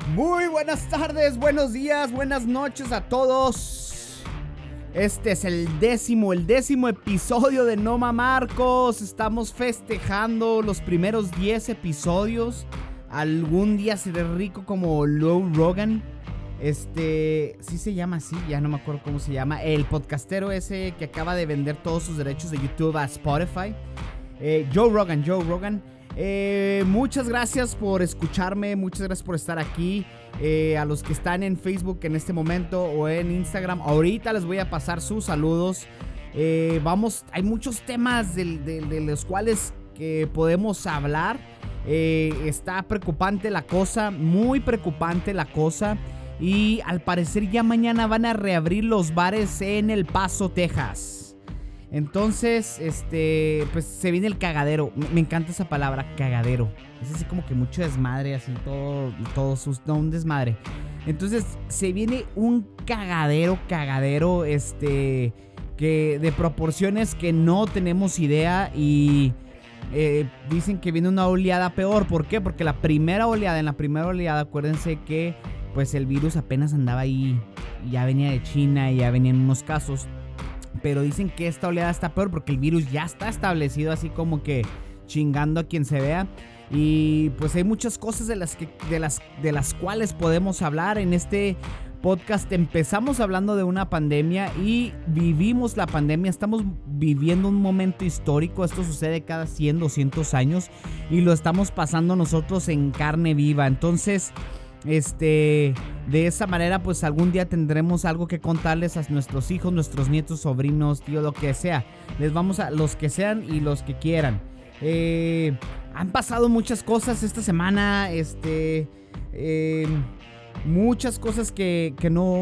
Muy buenas tardes, buenos días, buenas noches a todos. Este es el décimo episodio de No Mamarcos. Estamos festejando los primeros 10 episodios. Algún día seré rico como Joe Rogan. Sí se llama así, ya no me acuerdo cómo se llama. El podcastero ese que acaba de vender todos sus derechos de YouTube a Spotify. Joe Rogan. Muchas gracias por escucharme, muchas gracias por estar aquí. A los que están en Facebook en este momento o en Instagram, ahorita les voy a pasar sus saludos. Hay muchos temas de los cuales podemos hablar. Está preocupante la cosa, muy preocupante la cosa. Y al parecer ya mañana van a reabrir los bares en El Paso, Texas. Entonces, pues se viene el cagadero. Me encanta esa palabra, cagadero. Es así como que mucho desmadre, así un desmadre. Entonces, se viene un cagadero, que de proporciones que no tenemos idea. Y dicen que viene una oleada peor. ¿Por qué? Porque en la primera oleada, acuérdense que pues el virus apenas andaba ahí. Ya venía de China y ya venían unos casos. Pero dicen que esta oleada está peor porque el virus ya está establecido, así como que chingando a quien se vea. Y pues hay muchas cosas de las cuales podemos hablar en este podcast. Empezamos hablando de una pandemia y vivimos la pandemia. Estamos viviendo un momento histórico. Esto sucede cada 100, 200 años y lo estamos pasando nosotros en carne viva. Entonces, de esa manera, pues algún día tendremos algo que contarles a nuestros hijos, nuestros nietos, sobrinos, tío, lo que sea. Les vamos a los que sean y los que quieran. Han pasado muchas cosas esta semana. Muchas cosas que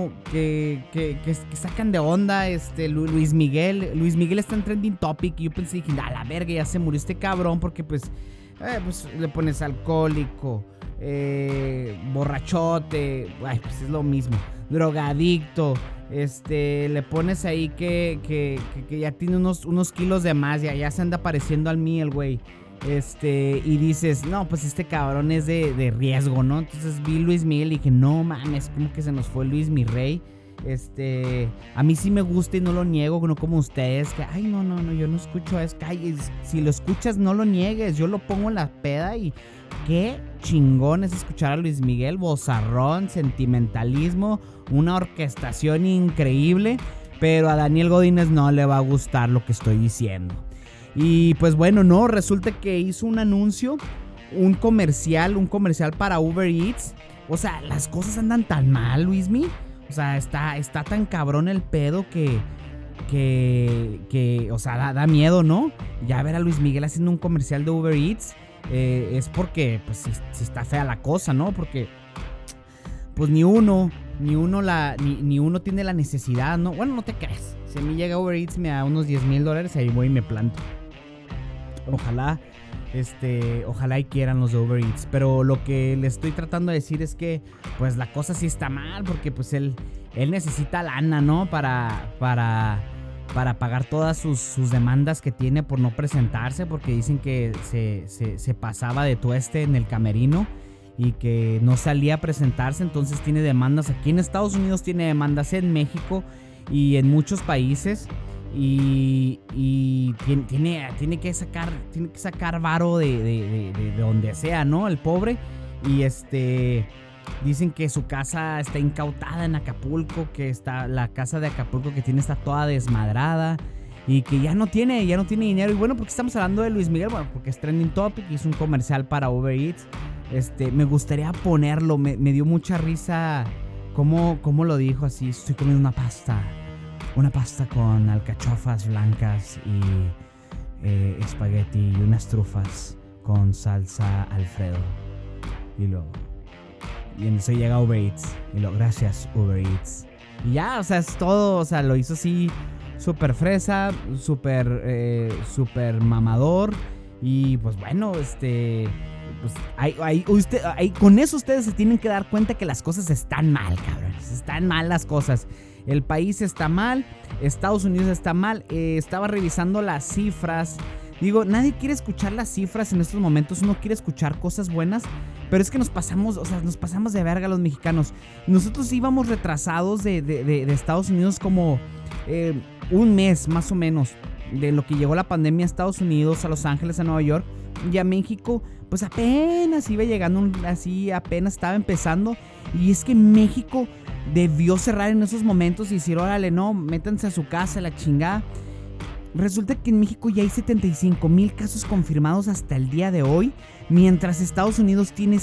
sacan de onda. Luis Miguel está en trending topic. Y yo pensé, dije, a la verga, ya se murió este cabrón. Porque pues le pones alcohólico, borrachote, pues es lo mismo, drogadicto, le pones ahí que ya tiene unos kilos de más, ya se anda pareciendo al mí el güey, y dices, no, pues este cabrón es de riesgo, ¿no? Entonces vi Luis Miguel y dije, no mames, como que se nos fue Luis mi rey. A mí sí me gusta y no lo niego, no como ustedes, que ay, no, yo no escucho eso. Si lo escuchas, no lo niegues, yo lo pongo en la peda y qué chingón es escuchar a Luis Miguel, vozarrón, sentimentalismo, una orquestación increíble, pero a Daniel Godínez no le va a gustar lo que estoy diciendo. Y pues bueno, no, resulta que hizo un anuncio, un comercial para Uber Eats. O sea, las cosas andan tan mal, Luismi. O sea, está tan cabrón el pedo que o sea, da miedo, ¿no? Ya ver a Luis Miguel haciendo un comercial de Uber Eats, es porque, pues, sí está fea la cosa, ¿no? Porque, pues, ni uno tiene la necesidad, ¿no? Bueno, no te creas. Si a mí llega Uber Eats, me da unos $10,000, ahí voy y me planto. Ojalá y quieran los de Uber Eats. Pero lo que le estoy tratando de decir es que pues la cosa sí está mal. Porque pues él necesita lana, ¿no? Para pagar todas sus demandas que tiene por no presentarse. Porque dicen que se pasaba de tueste en el camerino y que no salía a presentarse. Entonces tiene demandas aquí en Estados Unidos, tiene demandas en México y en muchos países. Y tiene que sacar varo de donde sea, ¿no? El pobre. Y dicen que su casa está incautada en Acapulco, que la casa de Acapulco que tiene está toda desmadrada y que ya no tiene dinero. Y bueno, porque estamos hablando de Luis Miguel, bueno, porque es trending topic y hizo un comercial para Uber Eats. Me gustaría ponerlo, me dio mucha risa cómo lo dijo así: estoy comiendo una pasta con alcachofas blancas y espagueti y unas trufas con salsa Alfredo. Y en eso llega Uber Eats. Gracias Uber Eats. Y ya, o sea, es todo. O sea, lo hizo así súper fresa, súper mamador. Y pues bueno, pues con eso ustedes se tienen que dar cuenta que las cosas están mal, cabrones. Están mal las cosas. El país está mal, Estados Unidos está mal. Estaba revisando las cifras. Digo, nadie quiere escuchar las cifras en estos momentos. Uno quiere escuchar cosas buenas. Pero es que nos pasamos de verga los mexicanos. Nosotros íbamos retrasados de Estados Unidos como un mes más o menos de lo que llegó la pandemia a Estados Unidos, a Los Ángeles, a Nueva York. Y a México, pues apenas iba llegando, así apenas estaba empezando. Y es que México debió cerrar en esos momentos y decir, órale, no, métanse a su casa, la chingada. Resulta que en México ya hay 75,000 casos confirmados hasta el día de hoy, mientras Estados Unidos tiene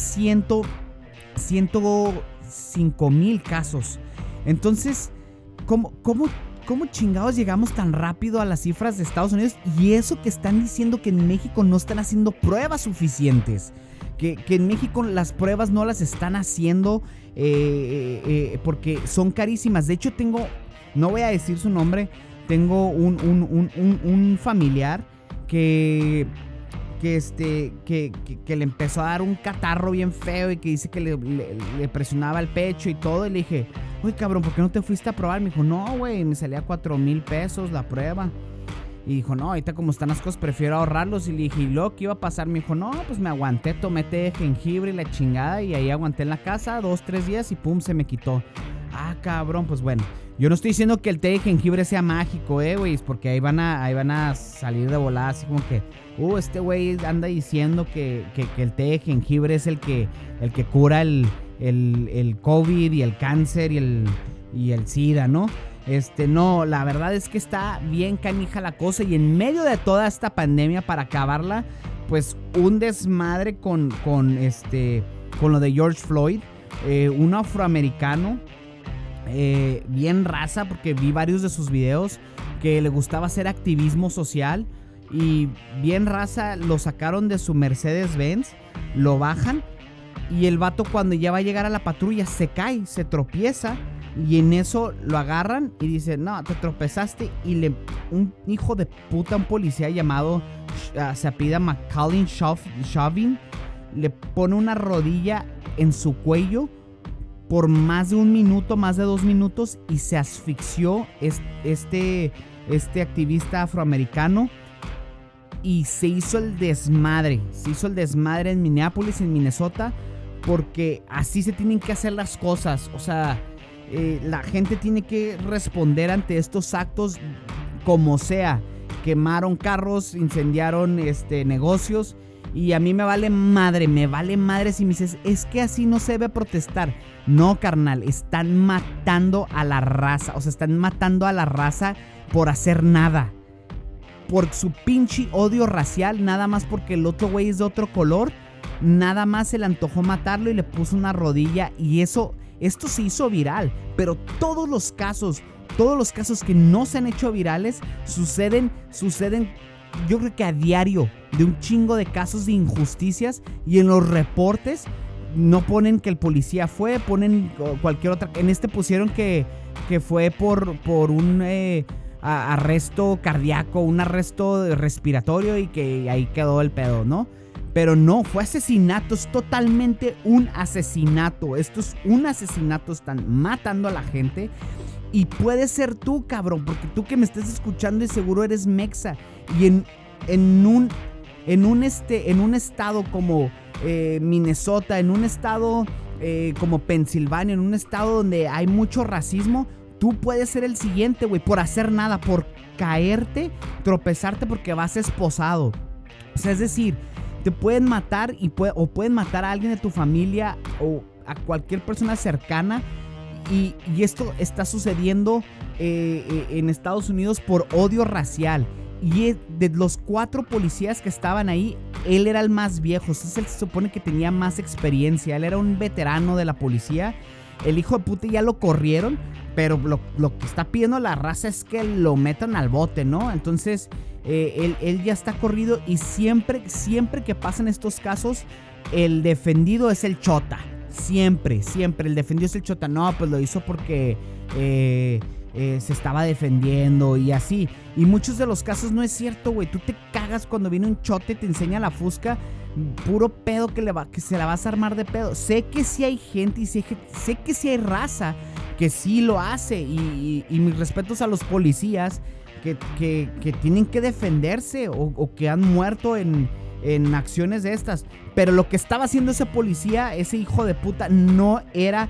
105,000 casos. Entonces, ¿cómo chingados llegamos tan rápido a las cifras de Estados Unidos? Y eso que están diciendo que en México no están haciendo pruebas suficientes. Que en México las pruebas no las están haciendo porque son carísimas. De hecho no voy a decir su nombre, tengo un familiar que le empezó a dar un catarro bien feo y que dice que le presionaba el pecho y todo. Y le dije, oye cabrón, ¿por qué no te fuiste a probar? Me dijo, no güey, me salía 4,000 pesos la prueba. Y dijo, no, ahorita como están las cosas prefiero ahorrarlos. Y le dije, ¿y luego qué iba a pasar? Me dijo, no, pues me aguanté, tomé té de jengibre y la chingada. Y ahí aguanté en la casa 2-3 días y pum, se me quitó. Ah, cabrón, pues bueno. Yo no estoy diciendo que el té de jengibre sea mágico, güey, porque ahí van a salir de volada así como que, este güey anda diciendo que el té de jengibre es el que cura el COVID y el cáncer y el SIDA, ¿no? No, la verdad es que está bien canija la cosa. Y en medio de toda esta pandemia, para acabarla, pues un desmadre con lo de George Floyd, un afroamericano, bien raza, porque vi varios de sus videos, que le gustaba hacer activismo social. Y bien raza, lo sacaron de su Mercedes-Benz, lo bajan, y el vato cuando ya va a llegar a la patrulla se cae, se tropieza. Y en eso lo agarran y dicen, no, te tropezaste. Y un hijo de puta, un policía llamado, se apellida McCallin Chauvin, le pone una rodilla en su cuello por más de 1 minuto, más de 2 minutos, y se asfixió este activista afroamericano. Y se hizo el desmadre en Minneapolis, en Minnesota, porque así se tienen que hacer las cosas. O sea, la gente tiene que responder ante estos actos como sea. Quemaron carros, incendiaron negocios, y a mí me vale madre si me dices, es que así no se debe protestar. No, carnal, están matando a la raza. O sea, están matando a la raza por hacer nada, por su pinche odio racial, nada más porque el otro güey es de otro color. Nada más se le antojó matarlo y le puso una rodilla. Y esto se hizo viral. Pero todos los casos que no se han hecho virales suceden, yo creo que a diario, de un chingo de casos de injusticias. Y en los reportes no ponen que el policía fue, ponen cualquier otra. En pusieron que fue por un arresto cardíaco, un arresto respiratorio, y que ahí quedó el pedo, ¿no? Pero no, fue asesinato, es totalmente un asesinato. Esto es un asesinato, están matando a la gente. Y puede ser tú, cabrón, porque tú que me estás escuchando y seguro eres mexa. Y en un estado como Minnesota, en un estado como Pensilvania, en un estado donde hay mucho racismo, tú puedes ser el siguiente, güey, por hacer nada, por caerte, tropezarte porque vas esposado. O sea, es decir, te pueden matar o pueden matar a alguien de tu familia o a cualquier persona cercana. Y esto está sucediendo en Estados Unidos por odio racial. Y de los 4 policías que estaban ahí, él era el más viejo. Entonces él se supone que tenía más experiencia. Él era un veterano de la policía. El hijo de puta ya lo corrieron, pero lo que está pidiendo la raza es que lo metan al bote, ¿no? Entonces él ya está corrido. Y siempre que pasan estos casos, el defendido es el chota. Siempre el defendido es el chota. No, pues lo hizo porque se estaba defendiendo y así. Y muchos de los casos no es cierto, güey. Tú te cagas cuando viene un chote y te enseña la fusca. Puro pedo que se la vas a armar de pedo. Sé que sí hay gente y sé que sí hay raza que sí lo hace. Y mis respetos a los policías que tienen que defenderse o que han muerto en en acciones de estas. Pero lo que estaba haciendo ese policía, ese hijo de puta, no era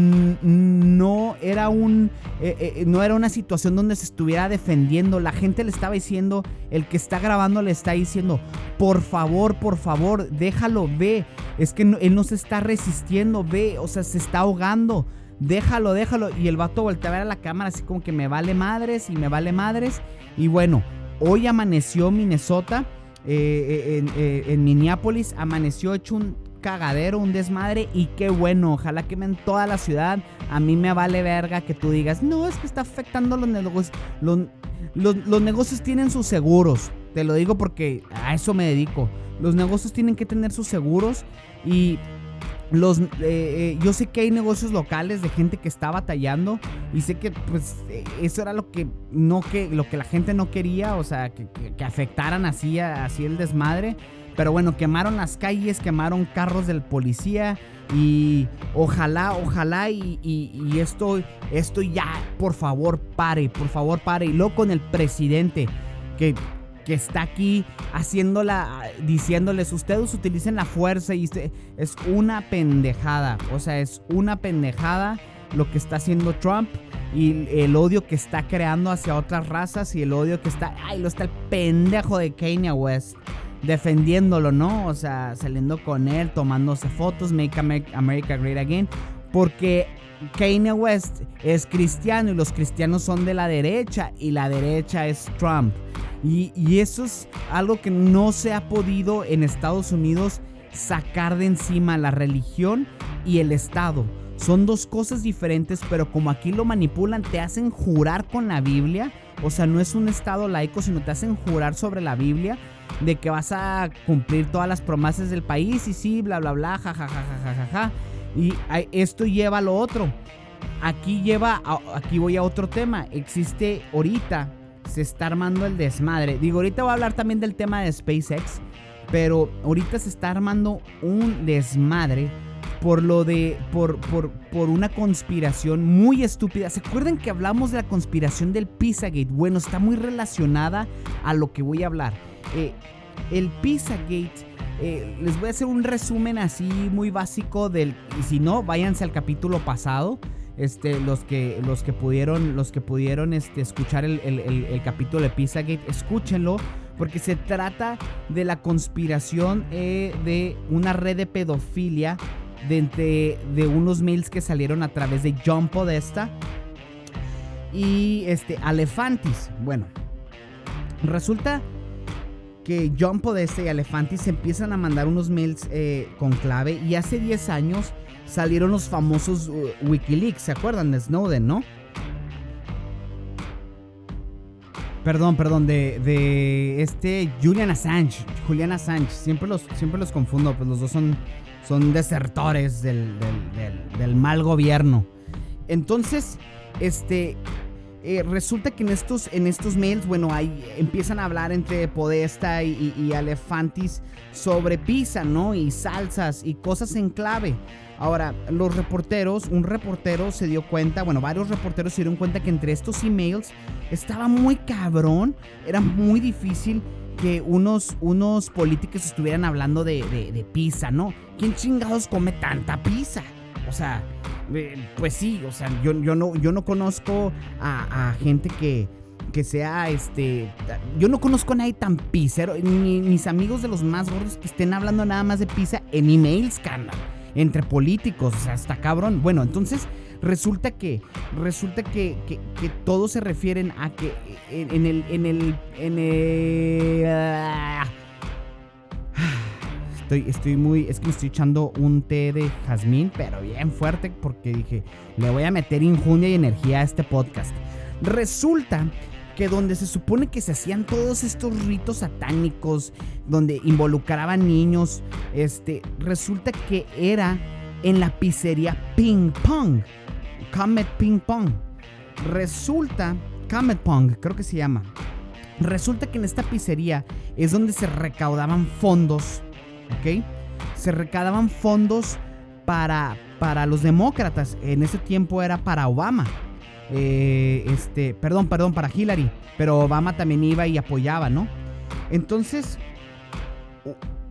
una situación donde se estuviera defendiendo. La gente le estaba diciendo, el que está grabando le está diciendo, por favor, déjalo, ve. Es que él no se está resistiendo, ve, o sea, se está ahogando. Déjalo. Y el vato voltea a ver a la cámara así como que me vale madres. Y bueno, hoy amaneció Minnesota, en Minneapolis, amaneció hecho un cagadero, un desmadre. Y qué bueno, ojalá quemen toda la ciudad. A mí me vale verga que tú digas, no, es que está afectando los negocios. Los negocios tienen sus seguros. Te lo digo porque a eso me dedico. Los negocios tienen que tener sus seguros. Y yo sé que hay negocios locales de gente que está batallando, y sé que pues eso era lo que la gente no quería, o sea, que afectaran así el desmadre. Pero bueno, quemaron las calles, quemaron carros del policía, y ojalá y esto ya por favor pare. Y luego con el presidente que está aquí diciéndoles, ustedes utilicen la fuerza, y es una pendejada. O sea, es una pendejada lo que está haciendo Trump, y el odio que está creando hacia otras razas, y el odio que está el pendejo de Kanye West defendiéndolo, ¿no? O sea, saliendo con él, tomándose fotos, Make America Great Again, porque Kanye West es cristiano y los cristianos son de la derecha, y la derecha es Trump. Y eso es algo que no se ha podido en Estados Unidos sacar de encima, la religión y el Estado. Son dos cosas diferentes, pero como aquí lo manipulan, te hacen jurar con la Biblia. O sea, no es un Estado laico, sino te hacen jurar sobre la Biblia de que vas a cumplir todas las promesas del país, y sí, bla, bla, bla, ja. Y esto lleva a lo otro. Aquí voy a otro tema. Existe ahorita, se está armando el desmadre. Digo, ahorita voy a hablar también del tema de SpaceX, pero ahorita se está armando un desmadre por una conspiración muy estúpida. ¿Se acuerdan que hablamos de la conspiración del Pizzagate? Bueno, está muy relacionada a lo que voy a hablar. El Pizzagate, les voy a hacer un resumen así muy básico y si no, váyanse al capítulo pasado. Los que pudieron escuchar el capítulo de Pizzagate, escúchenlo, porque se trata de la conspiración de una red de pedofilia de unos mails que salieron a través de John Podesta y Alefantis. Bueno, resulta que John Podesta y Alefantis se empiezan a mandar unos mails con clave, y hace 10 años salieron los famosos Wikileaks. ¿Se acuerdan de Snowden, no? Perdón, de Julian Assange. Siempre los confundo, pues los dos son desertores del mal gobierno. Entonces, resulta que en estos mails, bueno, ahí empiezan a hablar entre Podesta y Alefantis sobre pizza, ¿no? Y salsas y cosas en clave. Ahora, un reportero se dio cuenta, bueno, varios reporteros se dieron cuenta que entre estos emails estaba muy cabrón, era muy difícil que unos políticos estuvieran hablando de pizza, ¿no? ¿Quién chingados come tanta pizza? O sea, pues sí, o sea, yo no conozco a gente que sea yo no conozco a nadie tan pizzero, ni mis amigos de los más gordos que estén hablando nada más de pizza en emails, carnal, entre políticos. O sea, está cabrón. Bueno, entonces resulta que todos se refieren a que es que me estoy echando un té de jazmín, pero bien fuerte, porque dije, le voy a meter injundia y energía a este podcast. Resulta que donde se supone que se hacían todos estos ritos satánicos, donde involucraban niños, resulta que era en la pizzería Ping Pong, Comet Ping Pong. Comet Pong, creo que se llama. Resulta que en esta pizzería es donde se recaudaban fondos, ¿ok? Se recaudaban fondos para los demócratas. En ese tiempo era para Obama. Para Hillary, pero Obama también iba y apoyaba, ¿no? Entonces,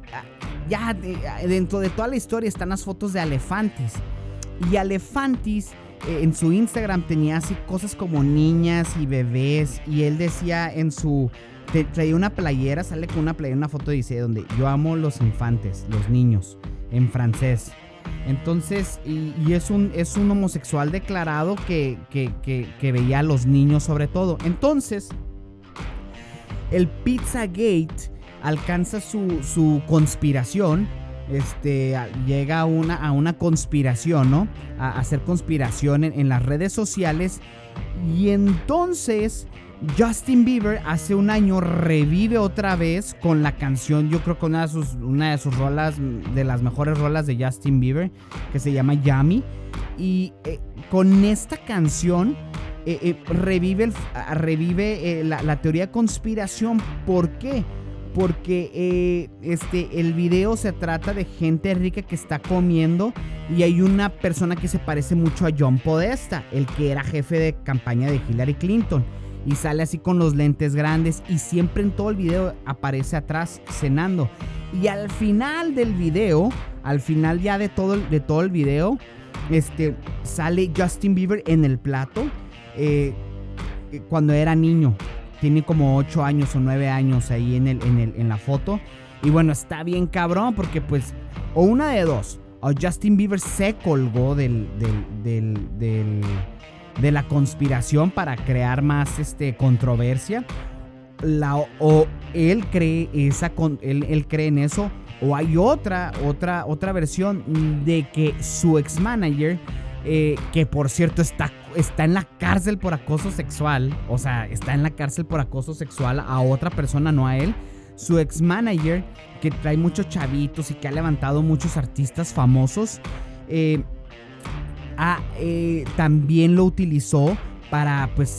dentro de toda la historia están las fotos de Alefantis. Y Alefantis en su Instagram tenía así cosas como niñas y bebés. Y él decía traía una playera, sale con una playera, una foto dice donde yo amo los infantes, los niños, en francés. Entonces, y es un homosexual declarado que veía a los niños sobre todo. Entonces, el Pizzagate alcanza su conspiración. Llega a una conspiración, ¿no? A hacer conspiración en las redes sociales. Y entonces Justin Bieber hace un año revive otra vez con la canción, yo creo que una de sus rolas, de las mejores rolas de Justin Bieber, que se llama Yummy. Y con esta canción revive la teoría de conspiración. ¿Por qué? Porque el video se trata de gente rica que está comiendo y hay una persona que se parece mucho a John Podesta, el que era jefe de campaña de Hillary Clinton, y sale así con los lentes grandes y siempre en todo el video aparece atrás cenando. Y al final del video, al final ya de todo el video, sale Justin Bieber en el plato cuando era niño. Tiene como 8 años o 9 años ahí en la foto. Y bueno, está bien cabrón porque pues, o una de dos, o Justin Bieber se colgó de la conspiración para crear más controversia. O él cree él cree en eso. O hay otra versión de que su ex manager, que por cierto está en la cárcel por acoso sexual. O sea, está en la cárcel por acoso sexual a otra persona, no a él. Su ex manager, que trae muchos chavitos y que ha levantado muchos artistas famosos, también lo utilizó para pues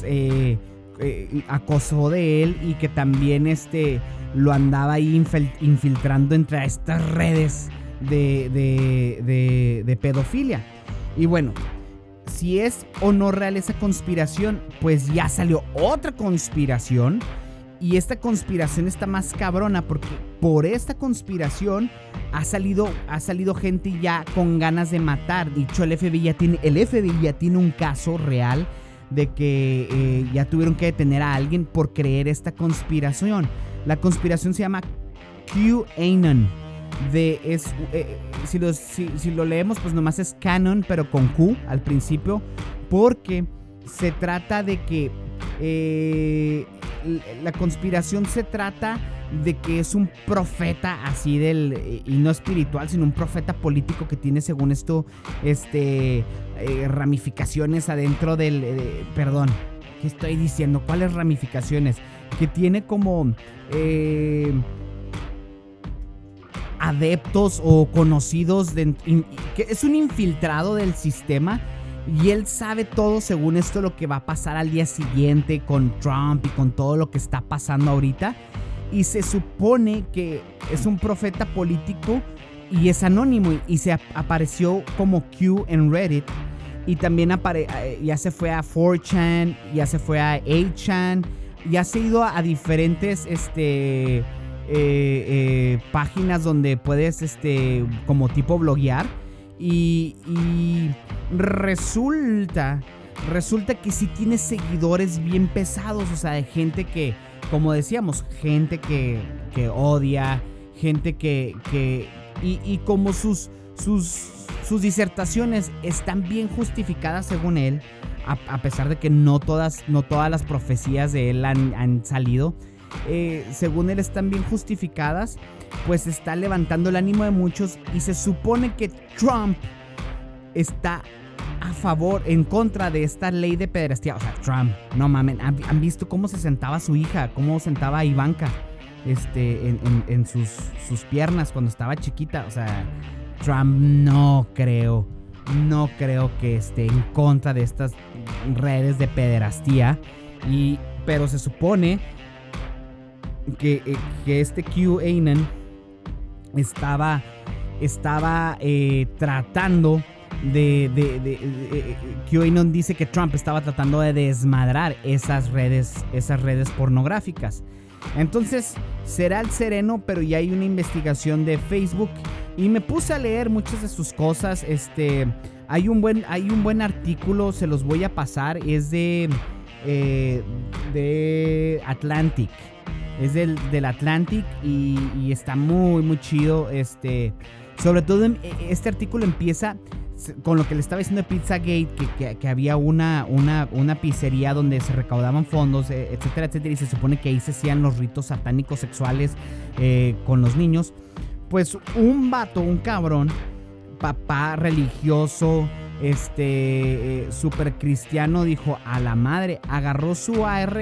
acosó de él, y que también lo andaba ahí infiltrando entre estas redes de pedofilia. Y bueno, si es o no real esa conspiración, pues ya salió otra conspiración. Y esta conspiración está más cabrona porque por esta conspiración ha salido gente ya con ganas de matar. Dicho, el FBI ya tiene un caso real de que ya tuvieron que detener a alguien por creer esta conspiración. La conspiración se llama QAnon. Si lo leemos, pues nomás es canon, pero con Q al principio, porque se trata de que la conspiración se trata de que es un profeta así y no espiritual, sino un profeta político que tiene, según esto, ramificaciones adentro perdón, ¿qué estoy diciendo? ¿Cuáles ramificaciones? Que tiene como adeptos o conocidos, que es un infiltrado del sistema. Y él sabe todo, según esto, lo que va a pasar al día siguiente con Trump y con todo lo que está pasando ahorita. Y se supone que es un profeta político y es anónimo. Y se apareció como Q en Reddit. Y también ya se fue a 4chan, ya se fue a 8chan, ya se ha ido a diferentes páginas donde puedes como tipo bloguear. Y resulta que sí tiene seguidores bien pesados. O sea, de gente que, como decíamos, gente que odia, gente y como sus disertaciones están bien justificadas según él, a pesar de que no todas las profecías de él han salido. Según él están bien justificadas, pues está levantando el ánimo de muchos. Y se supone que Trump está en contra de esta ley de pederastía. O sea, Trump, no mamen, ¿han visto cómo se sentaba su hija? Cómo sentaba a Ivanka en sus piernas cuando estaba chiquita. O sea, Trump no creo que esté en contra de estas redes de pederastía. Pero se supone que QAnon estaba tratando QAnon dice que Trump estaba tratando de desmadrar esas redes pornográficas. Entonces, será el sereno, pero ya hay una investigación de Facebook y me puse a leer muchas de sus cosas. Hay un buen artículo, se los voy a pasar, es de Atlantic. Es del Atlantic y está muy, muy chido. Sobre todo este artículo empieza con lo que le estaba diciendo de Pizzagate, que había una pizzería donde se recaudaban fondos, etcétera, etcétera, y se supone que ahí se hacían los ritos satánicos sexuales con los niños. Pues un vato, un cabrón, papá religioso, super cristiano, dijo a la madre, agarró su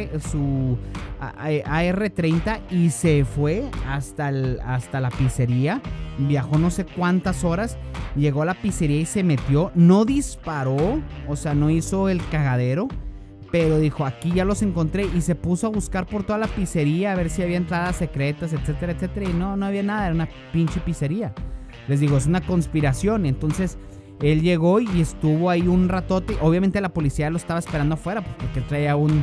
AR-30 y se fue hasta la pizzería, viajó no sé cuántas horas, llegó a la pizzería y se metió, no disparó, o sea, no hizo el cagadero, pero dijo, aquí ya los encontré, y se puso a buscar por toda la pizzería a ver si había entradas secretas, etcétera, etcétera, y no había nada, era una pinche pizzería. Les digo, es una conspiración. Entonces él llegó y estuvo ahí un ratote. Obviamente la policía lo estaba esperando afuera porque él traía una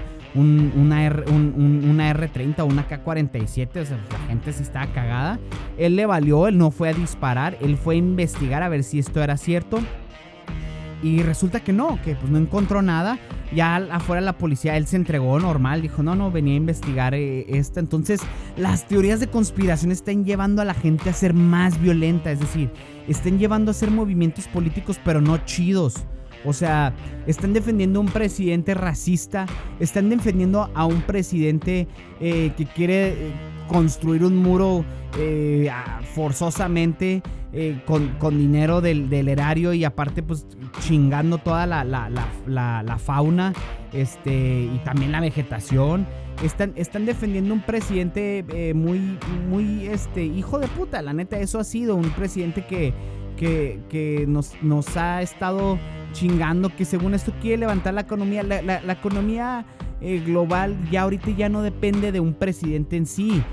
R30 o una K-47. O sea, la gente sí estaba cagada. Él le valió, él no fue a disparar. Él fue a investigar a ver si esto era cierto. Y resulta que no, que pues no encontró nada. Ya afuera la policía, él se entregó normal. Dijo, no, venía a investigar esto. Entonces, las teorías de conspiración están llevando a la gente a ser más violenta. Es decir, están llevando a hacer movimientos políticos, pero no chidos. O sea, están defendiendo a un presidente racista. Están defendiendo a un presidente que quiere construir un muro forzosamente con dinero del erario, y aparte pues chingando toda la fauna y también la vegetación. Están defendiendo un presidente muy hijo de puta. La neta, eso ha sido un presidente que nos ha estado chingando, que según esto quiere levantar la economía. La economía global ya ahorita ya no depende de un presidente en sí.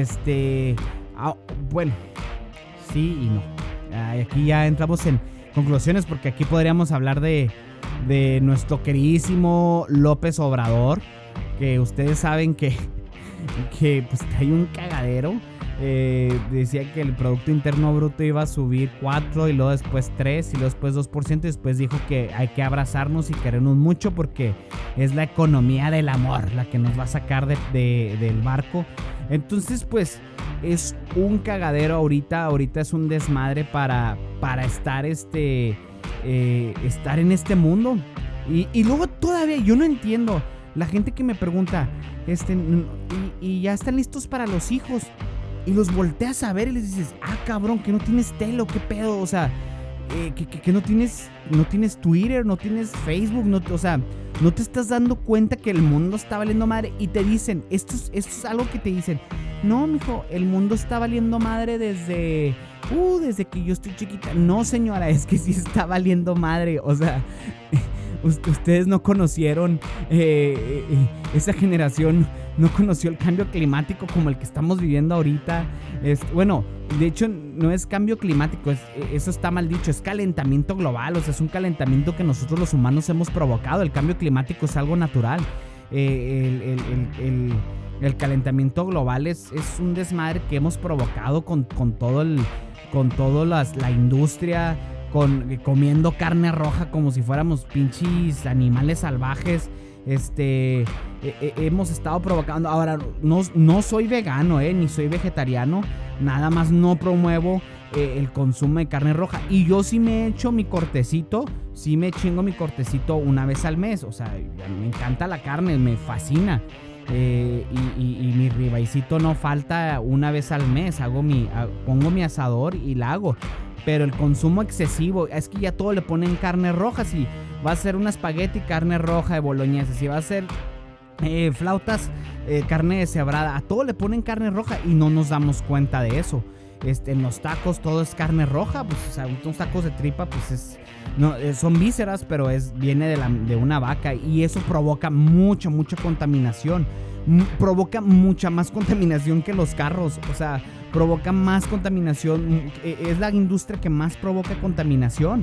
Bueno, sí y no. Aquí ya entramos en conclusiones, porque aquí podríamos hablar de nuestro queridísimo López Obrador, que ustedes saben que pues hay un cagadero. Decía que el Producto Interno Bruto iba a subir 4 y luego después 3 y luego después 2%, y después dijo que hay que abrazarnos y querernos mucho porque es la economía del amor la que nos va a sacar del barco. Entonces pues es un cagadero ahorita es un desmadre para estar estar en este mundo. Y luego todavía yo no entiendo la gente que me pregunta y ya están listos para los hijos, y los volteas a ver y les dices, cabrón, que no tienes tele, qué pedo, o sea, que no tienes Twitter, no tienes Facebook, o sea, no te estás dando cuenta que el mundo está valiendo madre. Y te dicen, esto es algo que te dicen, no, mijo, el mundo está valiendo madre desde que yo estoy chiquita. No, señora, es que sí está valiendo madre, o sea, ustedes no conocieron, esa generación no conoció el cambio climático como el que estamos viviendo ahorita. Bueno, de hecho no es cambio climático, eso está mal dicho, es calentamiento global. O sea, es un calentamiento que nosotros los humanos hemos provocado. El cambio climático es algo natural. El calentamiento global es un desmadre que hemos provocado con toda la industria, comiendo carne roja como si fuéramos pinches animales salvajes. Hemos estado provocando. Ahora, no soy vegano, ni soy vegetariano. Nada más no promuevo el consumo de carne roja. Y yo sí me echo mi cortecito. Sí me chingo mi cortecito una vez al mes. O sea, me encanta la carne, me fascina. Y mi ribaicito no falta una vez al mes. Pongo mi asador y la hago. Pero el consumo excesivo, es que ya todo le ponen carne roja. Si va a ser un espagueti, carne roja de boloñesa. Si va a ser flautas, carne deshebrada, a todo le ponen carne roja y no nos damos cuenta de eso. En los tacos todo es carne roja, pues, o sea, unos tacos de tripa, pues son vísceras, pero viene de una vaca, y eso provoca mucha contaminación. Provoca mucha más contaminación que los carros, o sea, provoca más contaminación. Es la industria que más provoca contaminación.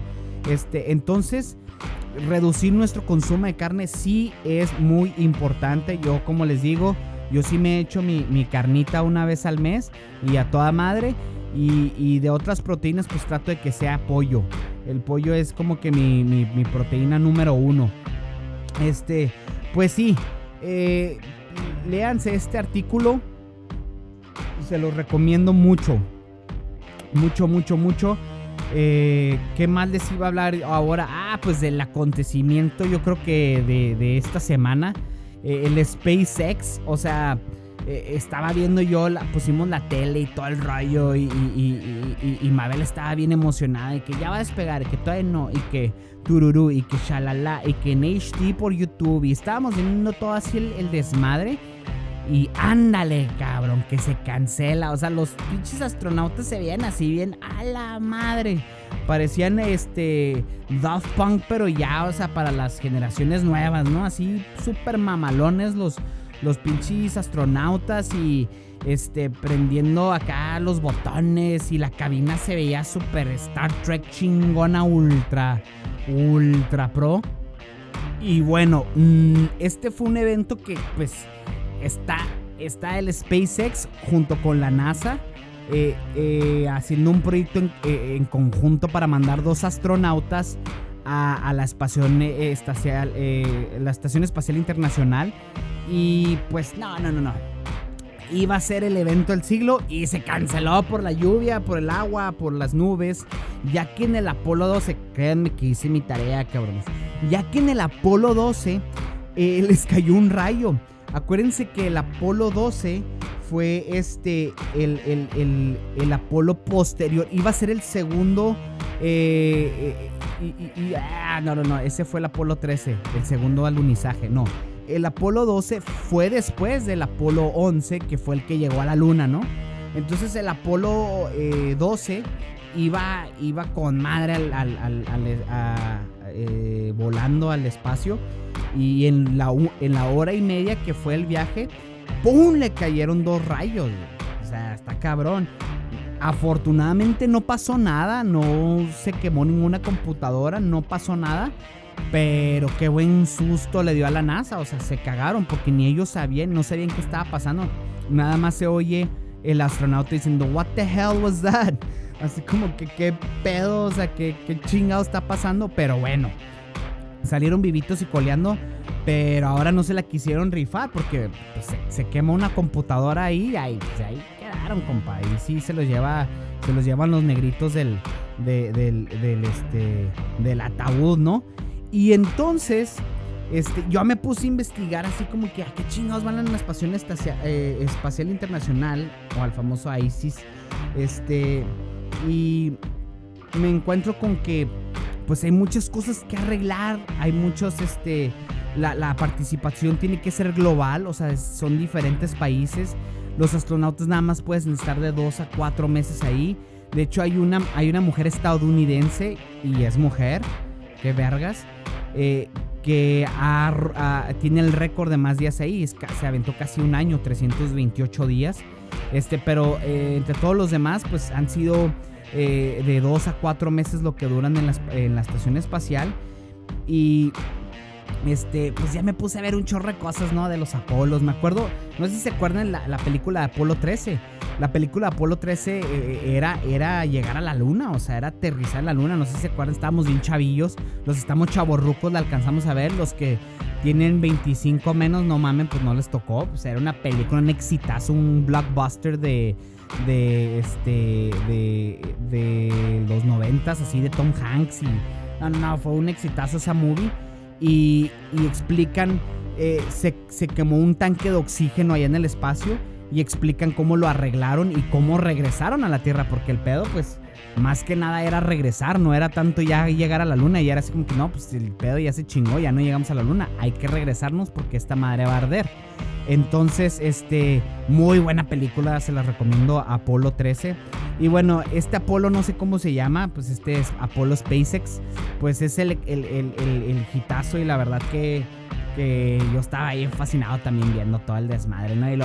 Entonces, reducir nuestro consumo de carne sí es muy importante. Yo, como les digo, yo sí me he hecho mi carnita una vez al mes y a toda madre. Y de otras proteínas, pues trato de que sea pollo. El pollo es como que mi proteína número 1. Pues sí, léanse este artículo. Se los recomiendo mucho. Mucho. ¿Qué más les iba a hablar ahora? Pues del acontecimiento, yo creo que de esta semana. El SpaceX, o sea, estaba viendo yo, pusimos la tele y todo el rollo y Mabel estaba bien emocionada y que ya va a despegar, y que todavía no, y que tururú, y que shalala, y que en HD por YouTube, y estábamos viendo todo así el desmadre. Y ándale, cabrón, que se cancela. O sea, los pinches astronautas se veían así bien a la madre. Parecían Daft Punk, pero ya, o sea, para las generaciones nuevas, ¿no? Así súper mamalones los pinches astronautas y prendiendo acá los botones. Y la cabina se veía súper Star Trek chingona, ultra pro. Y bueno, fue un evento que pues está el SpaceX junto con la NASA haciendo un proyecto en conjunto para mandar 2 astronautas a la estación espacial internacional. Y pues no. Iba a ser el evento del siglo y se canceló por la lluvia, por el agua, por las nubes. Ya que en el Apolo 12, créanme que hice mi tarea, cabrones. Ya que en el Apolo 12 les cayó un rayo. Acuérdense que el Apolo 12 fue el Apolo posterior. Iba a ser el segundo. No. Ese fue el Apolo 13, el segundo alunizaje. No. El Apolo 12 fue después del Apolo 11, que fue el que llegó a la luna, ¿no? Entonces el Apolo 12 iba con madre volando al espacio. Y en la hora y media que fue el viaje, ¡pum!, le cayeron 2 rayos. O sea, está cabrón. Afortunadamente no pasó nada, no se quemó ninguna computadora, no pasó nada. Pero qué buen susto le dio a la NASA. O sea, se cagaron porque ni ellos no sabían qué estaba pasando. Nada más se oye el astronauta diciendo, "What the hell was that?" Así como que qué pedo, o sea, qué chingado está pasando. Pero bueno, salieron vivitos y coleando, pero ahora no se la quisieron rifar porque pues, se quema una computadora ahí, pues, ahí quedaron, compa. Y sí se los llevan los negritos del ataúd, ¿no? Y entonces yo me puse a investigar así como que a qué chingados van a la Estación Espacial Internacional o al famoso ISIS. Y me encuentro con que pues hay muchas cosas que arreglar, hay muchos, la participación tiene que ser global, o sea, son diferentes países. Los astronautas nada más pueden estar de 2 a 4 meses ahí. De hecho, hay una mujer estadounidense, y es mujer, qué vergas, que tiene el récord de más días ahí. Se aventó casi un año, 328 días. Pero entre todos los demás, pues han sido de 2 a 4 meses lo que duran en la estación espacial. Y pues ya me puse a ver un chorro de cosas, ¿no? De los Apolos. Me acuerdo, no sé si se acuerdan la película de Apolo 13. La película de Apolo 13 era llegar a la luna, o sea, era aterrizar en la luna. No sé si se acuerdan, estábamos bien chavillos. Los estamos chavorrucos, la alcanzamos a ver. Los que tienen 25 menos, no mamen, pues no les tocó. Pues era una película, un exitazo, un blockbuster de los 90s, así de Tom Hanks. Y no, fue un exitazo esa movie. Y explican, se quemó un tanque de oxígeno allá en el espacio. Y explican cómo lo arreglaron y cómo regresaron a la Tierra. Porque el pedo, pues, más que nada era regresar. No era tanto ya llegar a la luna. Y era así como que no, pues el pedo ya se chingó. Ya no llegamos a la luna. Hay que regresarnos porque esta madre va a arder. Entonces, muy buena película. Se la recomiendo, Apolo 13. Y bueno, Apolo no sé cómo se llama. Pues es Apolo SpaceX. Pues es el hitazo. Y la verdad que yo estaba ahí fascinado también viendo todo el desmadre, ¿no? Y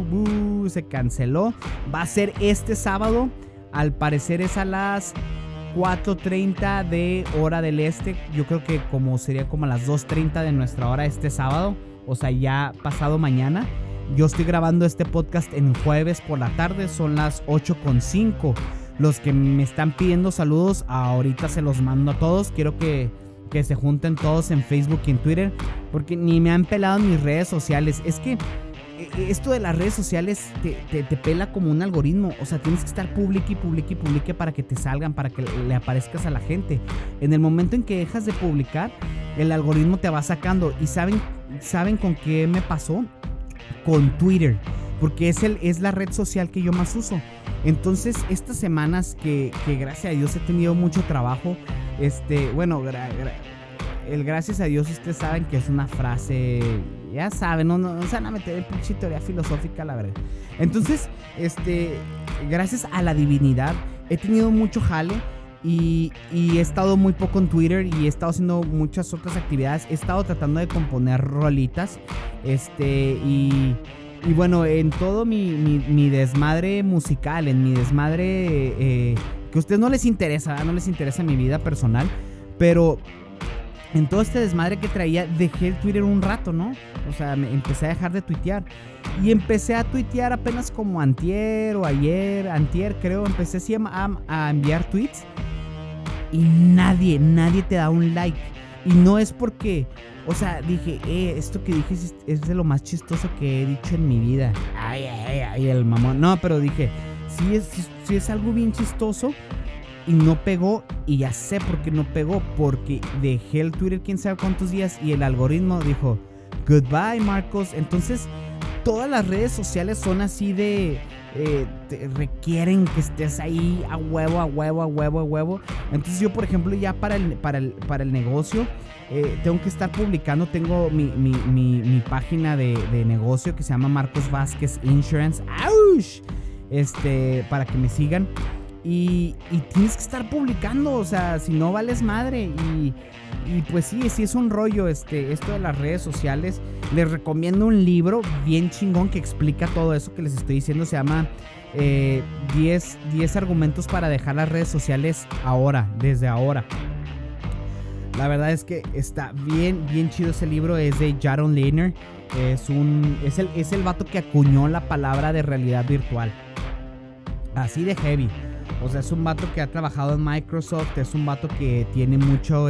se canceló. Va a ser este sábado. Al parecer es a las 4:30 de hora del este. Yo creo que sería como a las 2:30 de nuestra hora este sábado. O sea, ya pasado mañana. Yo estoy grabando este podcast en jueves por la tarde. Son las 8:05. Los que me están pidiendo saludos, ahorita se los mando a todos. Quiero que se junten todos en Facebook y en Twitter, porque ni me han pelado en mis redes sociales. Es que esto de las redes sociales te pela como un algoritmo. O sea, tienes que estar publique para que te salgan, para que le aparezcas a la gente. En el momento en que dejas de publicar, el algoritmo te va sacando. ¿Y saben con qué me pasó? Con Twitter, porque es la red social que yo más uso. Entonces, estas semanas que gracias a Dios he tenido mucho trabajo, el gracias a Dios, ustedes saben que es una frase, ya saben, no se van a meter en pinche teoría filosófica, la verdad. Entonces, gracias a la divinidad, he tenido mucho jale y he estado muy poco en Twitter y he estado haciendo muchas otras actividades. He estado tratando de componer rolitas, y bueno, en todo mi desmadre musical, en mi desmadre que a ustedes no les interesa mi vida personal, pero en todo este desmadre que traía, dejé el Twitter un rato, ¿no? O sea, empecé a dejar de tuitear. Y empecé a tuitear apenas como antier creo. Empecé así a enviar tweets. Y nadie te da un like. Y no es porque, o sea, dije, esto que dije es de lo más chistoso que he dicho en mi vida. Ay, el mamón. No, pero dije, sí es algo bien chistoso. Y no pegó, y ya sé por qué no pegó, porque dejé el Twitter quién sabe cuántos días y el algoritmo dijo, goodbye Marcos. Entonces, todas las redes sociales son así te requieren que estés ahí a huevo. Entonces yo, por ejemplo, ya para el negocio, tengo que estar publicando. Tengo mi página de negocio que se llama Marcos Vázquez Insurance. ¡Auch! Para que me sigan. Y tienes que estar publicando, o sea, si no vales madre. Y pues sí es un rollo esto de las redes sociales. Les recomiendo un libro bien chingón que explica todo eso que les estoy diciendo. Se llama 10 argumentos para dejar las redes sociales desde ahora. La verdad es que está bien chido ese libro. Es de Jaron Lanier. Es el vato que acuñó la palabra de realidad virtual. Así de heavy. O sea, es un vato que ha trabajado en Microsoft. Es un vato que tiene mucho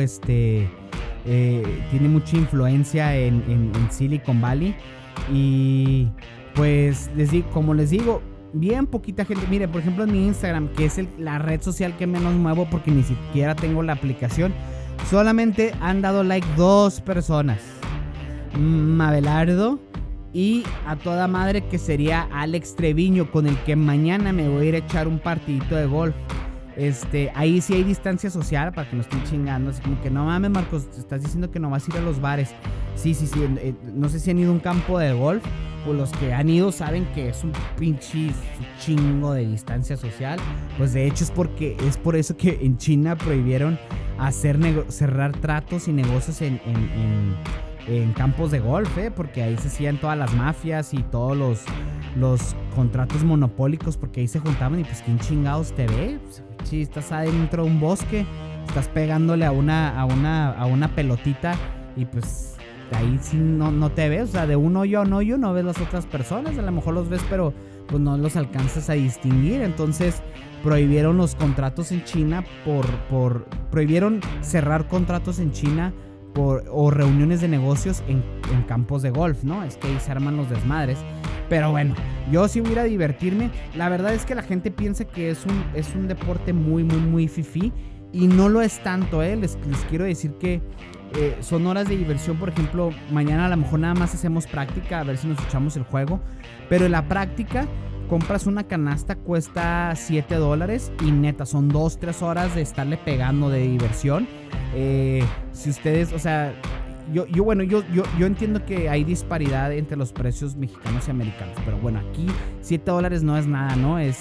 tiene mucha influencia en Silicon Valley. Y pues como les digo, bien poquita gente. Mire, por ejemplo, en mi Instagram, que es la red social que menos muevo porque ni siquiera tengo la aplicación, solamente han dado like 2 personas. Mabelardo y a toda madre, que sería Alex Treviño, con el que mañana me voy a ir a echar un partidito de golf. Ahí sí hay distancia social, para que no estén chingando. Así como que no mames, Marcos, te estás diciendo que no vas a ir a los bares. Sí. No sé si han ido a un campo de golf, o los que han ido saben que es un pinche chingo de distancia social. Pues de hecho es por eso que en China prohibieron cerrar tratos y negocios en campos de golf, porque ahí se hacían todas las mafias y todos los contratos monopólicos, porque ahí se juntaban. Y pues quién chingados te ve, pues, si estás adentro de un bosque, estás pegándole a una pelotita, y pues ahí sí no te ves. O sea, de un hoyo a un hoyo no ves las otras personas. A lo mejor los ves, pero pues no los alcanzas a distinguir. Entonces prohibieron los contratos en China prohibieron cerrar contratos en China o reuniones de negocios en campos de golf, ¿no? Es que ahí se arman los desmadres. Pero bueno, yo sí voy a ir a divertirme. La verdad es que la gente piensa que es un deporte muy fifí, y no lo es tanto, Les quiero decir que son horas de diversión. Por ejemplo, mañana a lo mejor nada más hacemos práctica, a ver si nos echamos el juego. Pero en la práctica compras una canasta, cuesta $7, y neta, son 2-3 horas de estarle pegando de diversión. Si ustedes, o sea, yo entiendo que hay disparidad entre los precios mexicanos y americanos, pero bueno, aquí $7 no es nada, ¿no? Es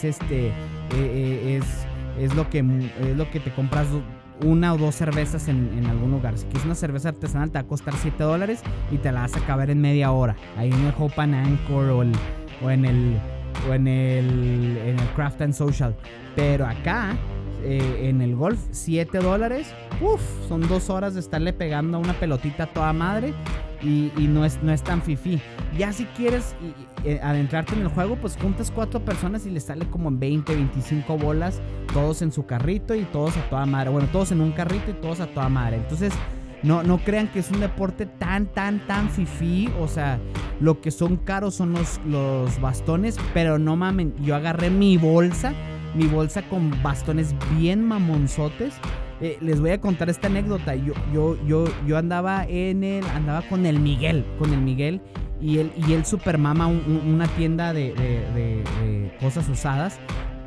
lo que te compras una o 2 cervezas en algún lugar. Si quieres una cerveza artesanal, te va a costar $7 y te la vas a acabar en media hora. Ahí en el Hope and Anchor o en el Craft and Social. Pero acá en el golf, $7. Uf, son 2 horas de estarle pegando a una pelotita a toda madre. Y no es tan fifí. Ya si quieres adentrarte en el juego, pues juntas 4 personas y les sale como 20, 25 bolas, todos en su carrito y todos a toda madre. Bueno, todos en un carrito y todos a toda madre. Entonces, no crean que es un deporte tan fifí. O sea, lo que son caros son los bastones, pero no mamen, yo agarré mi bolsa con bastones bien mamonzotes. Les voy a contar esta anécdota. Yo andaba con el Miguel. Y él super mama una tienda de cosas usadas.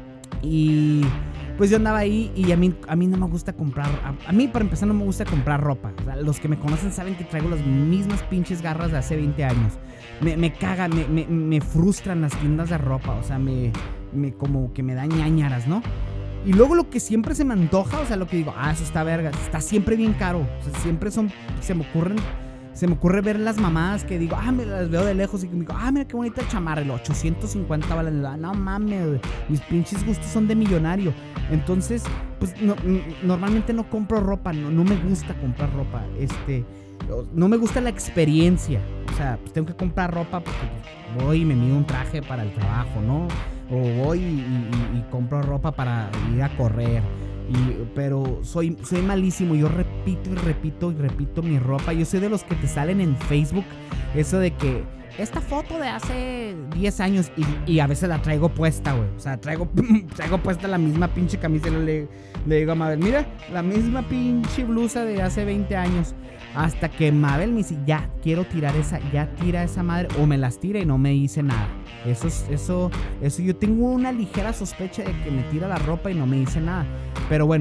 Y pues yo andaba ahí y a mí no me gusta comprar. A mí, para empezar, no me gusta comprar ropa. O sea, los que me conocen saben que traigo las mismas pinches garras de hace 20 años. Me cagan, me frustran las tiendas de ropa. O sea, como que me dan ñañaras, ¿no? Y luego lo que siempre se me antoja, o sea, lo que digo, eso está verga, está siempre bien caro. O sea, siempre se me ocurre ver las mamadas que digo, me las veo de lejos y me digo, mira qué bonita chamarra, el 850 balas. No mames, mis pinches gustos son de millonario. Entonces, pues normalmente no compro ropa, no me gusta comprar ropa. No me gusta la experiencia. O sea, pues tengo que comprar ropa porque pues, voy y me mido un traje para el trabajo, ¿no? O voy y compro ropa para ir a correr. Pero soy malísimo. Yo repito mi ropa. Yo soy de los que te salen en Facebook eso de que esta foto de hace 10 años y a veces la traigo puesta, güey. O sea, traigo puesta la misma pinche camisa. Le digo a Mabel, mira, la misma pinche blusa de hace 20 años. Hasta que Mabel me dice, ya quiero tirar ya tira esa madre. O me las tira y no me dice nada. Eso yo tengo una ligera sospecha de que me tira la ropa y no me dice nada. Pero bueno,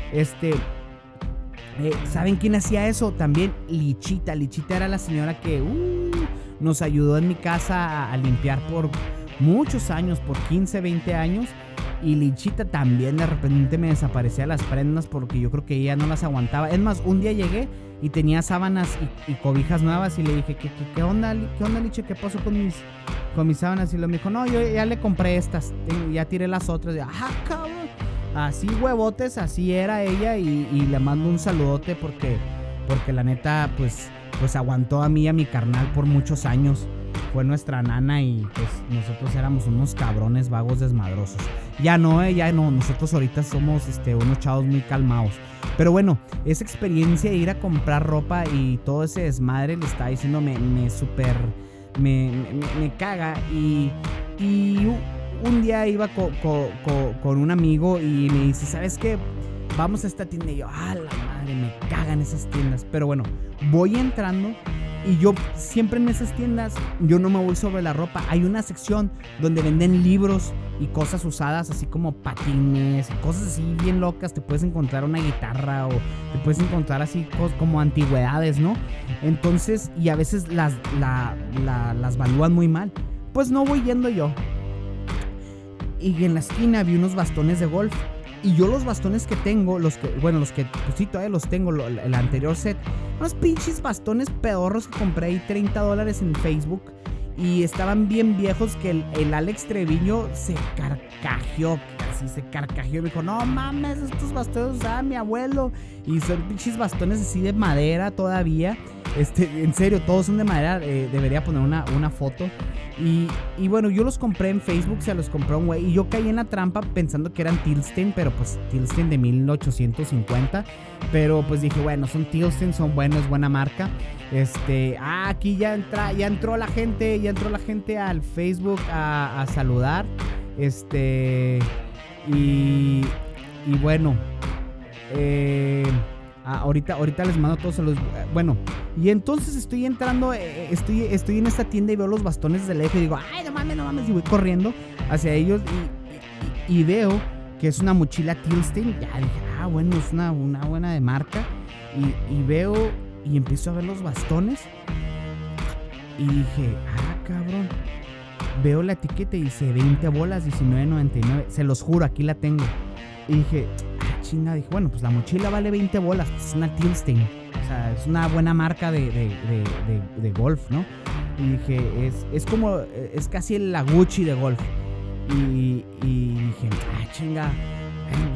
¿saben quién hacía eso? También Lichita. Lichita era la señora que nos ayudó en mi casa a limpiar por muchos años, por 15, 20 años. Y Lichita también de repente me desaparecía las prendas porque yo creo que ella no las aguantaba. Es más, un día llegué y tenía sábanas y cobijas nuevas y le dije, ¿qué onda, Licha? ¿Qué pasó con mis sábanas? Y me dijo, no, yo ya le compré estas, ya tiré las otras. Y, cabrón. Así huevotes, así era ella y le mando un saludote porque la neta, pues aguantó a mí y a mi carnal por muchos años. Fue nuestra nana y pues nosotros éramos unos cabrones vagos desmadrosos. Ya no, nosotros ahorita somos unos chavos muy calmados. Pero bueno, esa experiencia de ir a comprar ropa y todo ese desmadre, le estaba diciendo, me caga. Y un día iba con un amigo y me dice, ¿sabes qué? Vamos a esta tienda. Y yo, la madre, me cagan esas tiendas. Pero bueno, voy entrando. Y yo siempre en esas tiendas, yo no me voy sobre la ropa. Hay una sección donde venden libros y cosas usadas, así como patines, cosas así bien locas. Te puedes encontrar una guitarra o te puedes encontrar así como antigüedades, ¿no? Entonces, y a veces las valúan muy mal. Pues no voy yendo yo. Y en la esquina vi unos bastones de golf. Y yo los bastones que tengo, pues sí, todavía los tengo, el anterior set, unos pinches bastones pedorros que compré ahí $30 en Facebook. Y estaban bien viejos que el Alex Treviño se carcajeó. Y me dijo, no mames, estos bastones usaban mi abuelo. Y son pinches bastones así de madera todavía. En serio, todos son de madera. Debería poner una foto. Y bueno, yo los compré en Facebook, se los compró un güey. Y yo caí en la trampa pensando que eran Tilsten, pero pues Tilsten de 1850. Pero pues dije, bueno, son Tilsten, son buenos, es buena marca. Aquí ya entró la gente al Facebook a saludar. Y bueno, ahorita les mando todos los... Bueno, y entonces estoy entrando, estoy en esta tienda y veo los bastones de lejos y digo, ay, no mames, y voy corriendo hacia ellos y veo que es una mochila Tilsten. Ya dije, bueno, es una buena de marca. Y veo y empiezo a ver los bastones y dije, cabrón. Veo la etiqueta y dice 20 bolas, $19.99. Se los juro, aquí la tengo. Y dije, chinga. Dije, bueno, pues la mochila vale 20 bolas. Pues es una Tilsten. O sea, es una buena marca de golf, ¿no? Y dije, es casi la Gucci de golf. Y dije, chinga.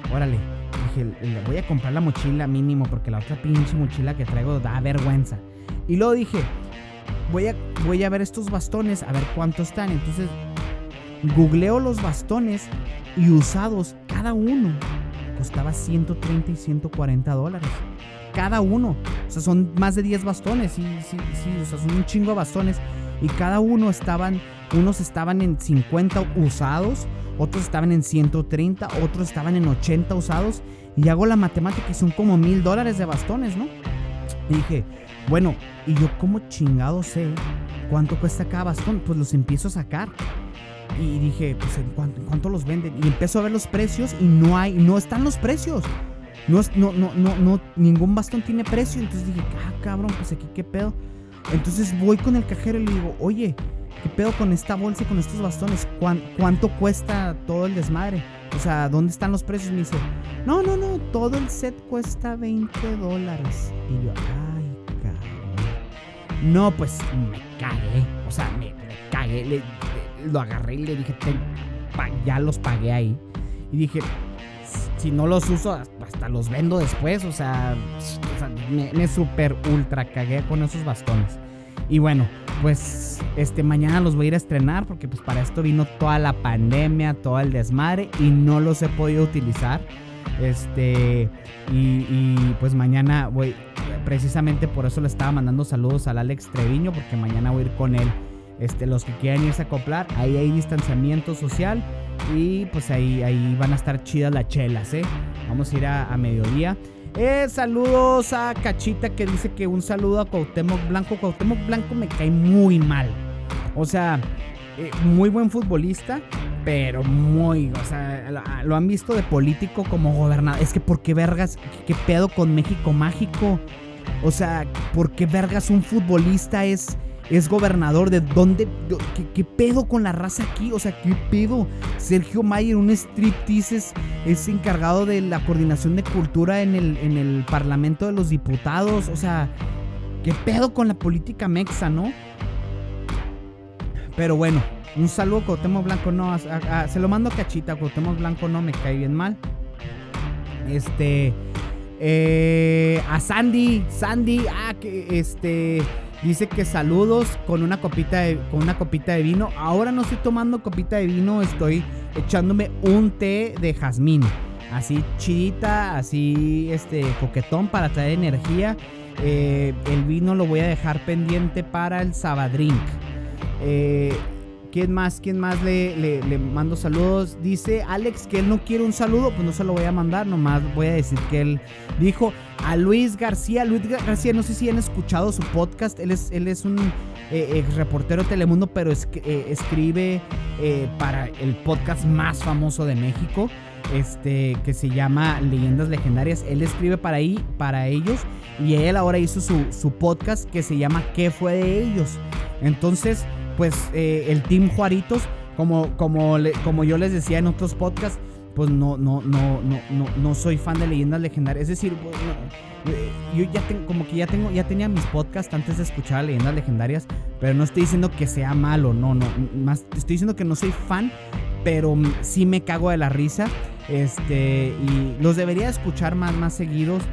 órale. Dije, le voy a comprar la mochila mínimo porque la otra pinche mochila que traigo da vergüenza. Y luego dije, voy a ver estos bastones, a ver cuánto están. Entonces, googleo los bastones y usados, cada uno costaba $130 y $140. Cada uno. O sea, son más de 10 bastones. Sí, o sea, son un chingo de bastones. Y cada uno unos estaban en 50 usados, otros estaban en 130, otros estaban en 80 usados. Y hago la matemática y son como $1,000 de bastones, ¿no? Y dije, bueno, ¿y yo cómo chingado sé cuánto cuesta cada bastón? Pues los empiezo a sacar. Y dije, pues ¿en cuánto los venden? Y empiezo a ver los precios y no están los precios. No, ningún bastón tiene precio. Entonces dije, cabrón, pues aquí qué pedo. Entonces voy con el cajero y le digo, oye, ¿qué pedo con esta bolsa y con estos bastones? ¿Cuánto cuesta todo el desmadre? O sea, ¿dónde están los precios? Me dice, no, todo el set cuesta $20. Y yo, ay, cabrón. No, pues me cagué. O sea, me cagué. Lo agarré y le dije, ya los pagué ahí. Y dije, si no los uso, hasta los vendo después. O sea me super ultra cagué con esos bastones. Y bueno, pues mañana los voy a ir a estrenar porque pues para esto vino toda la pandemia, todo el desmadre y no los he podido utilizar. Y pues mañana voy, precisamente por eso le estaba mandando saludos al Alex Treviño, porque mañana voy a ir con él. Los que quieran irse a acoplar, ahí hay distanciamiento social y pues ahí van a estar chidas las chelas, Vamos a ir a mediodía. Saludos a Cachita, que dice que un saludo a Cuauhtémoc Blanco. Cuauhtémoc Blanco me cae muy mal. O sea, muy buen futbolista, pero o sea, lo han visto de político como gobernador. Es que ¿por qué vergas? ¿Qué pedo con México Mágico? O sea, ¿por qué vergas un futbolista es gobernador? ¿De dónde? ¿Qué pedo con la raza aquí? O sea, ¿qué pedo? Sergio Mayer, un striptease, es encargado de la coordinación de cultura en el Parlamento de los Diputados. O sea, ¿qué pedo con la política mexa, no? Pero bueno, un saludo a Cuauhtémoc Blanco. No, se lo mando a Cachita. Cuauhtémoc Blanco no me cae bien mal. A Sandy, que dice que saludos con una copita de vino. Ahora no estoy tomando copita de vino, estoy echándome un té de jazmín. Así chidita, así coquetón para traer energía. El vino lo voy a dejar pendiente para el Sabadrink. ¿Quién más le mando saludos? Dice Alex que él no quiere un saludo. Pues no se lo voy a mandar, nomás voy a decir que él dijo a Luis García. Luis García, no sé si han escuchado su podcast. Él es un ex reportero de Telemundo, pero escribe para el podcast más famoso de México, que se llama Leyendas Legendarias. Él escribe para ellos, y él ahora hizo su podcast que se llama ¿Qué fue de ellos? Entonces, pues el Team Juaritos, como yo les decía en otros podcasts, pues no soy fan de Leyendas Legendarias. Es decir, yo ya tenía mis podcasts antes de escuchar a Leyendas Legendarias, pero no estoy diciendo que sea malo, más estoy diciendo que no soy fan, pero sí me cago de la risa. Y los debería escuchar más seguidos,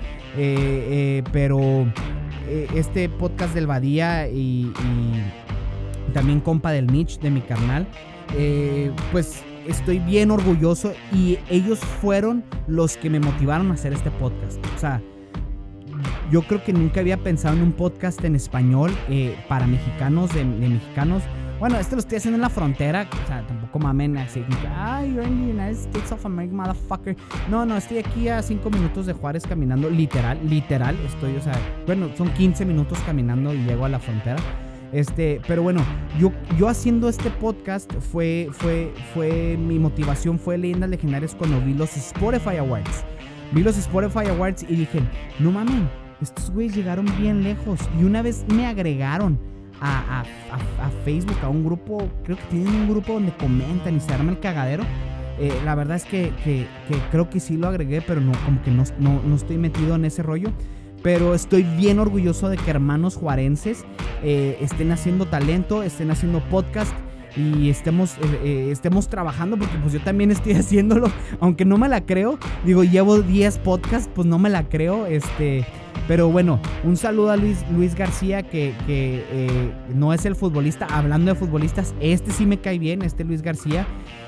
pero este podcast del Badía y también compa del Mitch, de mi carnal, pues estoy bien orgulloso, y ellos fueron los que me motivaron a hacer este podcast. O sea, yo creo que nunca había pensado en un podcast en español para mexicanos, de mexicanos. Bueno, lo estoy haciendo en la frontera, o sea, tampoco mamen así, you're in the United States of America, motherfucker. No, estoy aquí a 5 minutos de Juárez caminando, literal, estoy, o sea, bueno, son 15 minutos caminando y llego a la frontera. Pero bueno, yo haciendo este podcast fue mi motivación fue Leyendas Legendarias cuando vi los Spotify Awards. Y dije, no mames, estos güeyes llegaron bien lejos. Y una vez me agregaron a Facebook, a un grupo, creo que tienen un grupo donde comentan y se arma el cagadero. La verdad es que creo que sí lo agregué, pero no, como que no estoy metido en ese rollo. Pero estoy bien orgulloso de que hermanos juarenses estén haciendo talento, estén haciendo podcast. y estemos trabajando, porque pues yo también estoy haciéndolo, aunque no me la creo. Digo, llevo 10 podcasts, pues no me la creo. Pero bueno, un saludo a Luis García, que no es el futbolista. Hablando de futbolistas, sí me cae bien, Luis García.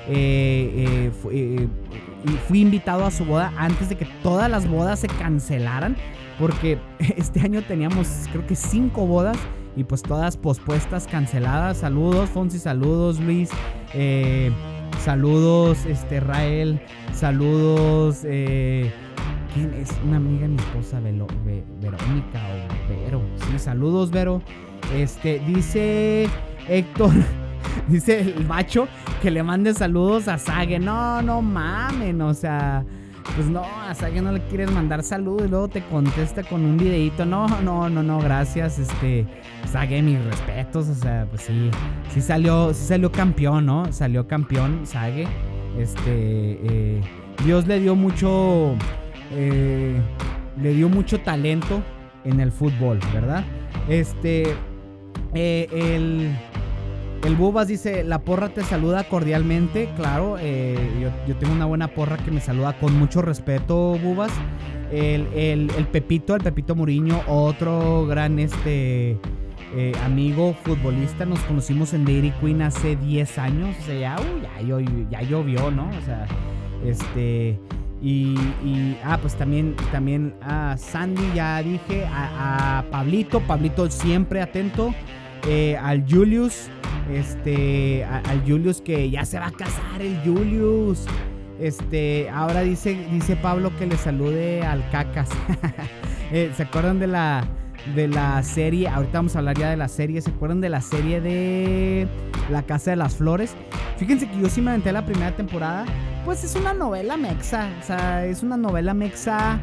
Fui invitado a su boda antes de que todas las bodas se cancelaran, porque este año teníamos creo que 5 bodas y pues todas pospuestas, canceladas. Saludos Fonsi, saludos Luis, saludos Rael, saludos ¿quién es? Una amiga de mi esposa, Verónica o Vero. Sí, saludos Vero. Dice Héctor, dice el macho, que le mande saludos a Sage. No mamen, o sea, pues no, a Sage no le quieres mandar saludos y luego te contesta con un videito. No, gracias, Sage, mis respetos, o sea, pues sí salió campeón, ¿no? Salió campeón Sage. Dios le dio mucho talento en el fútbol, ¿verdad? El Bubas dice, la porra te saluda cordialmente. Claro, yo tengo una buena porra que me saluda con mucho respeto, Bubas. El Pepito Muriño, otro gran amigo futbolista. Nos conocimos en Dairy Queen hace 10 años. O sea, ya llovió, ¿no? O sea, pues también a Sandy, ya dije, a Pablito siempre atento, al Julius, al Julius, que ya se va a casar el Julius. Ahora dice Pablo que le salude al Cacas. ¿Se acuerdan de la serie? Ahorita vamos a hablar ya de la serie. ¿Se acuerdan de la serie de La Casa de las Flores? Fíjense que yo sí me aventé la primera temporada. Pues es una novela mexa. O sea, es una novela mexa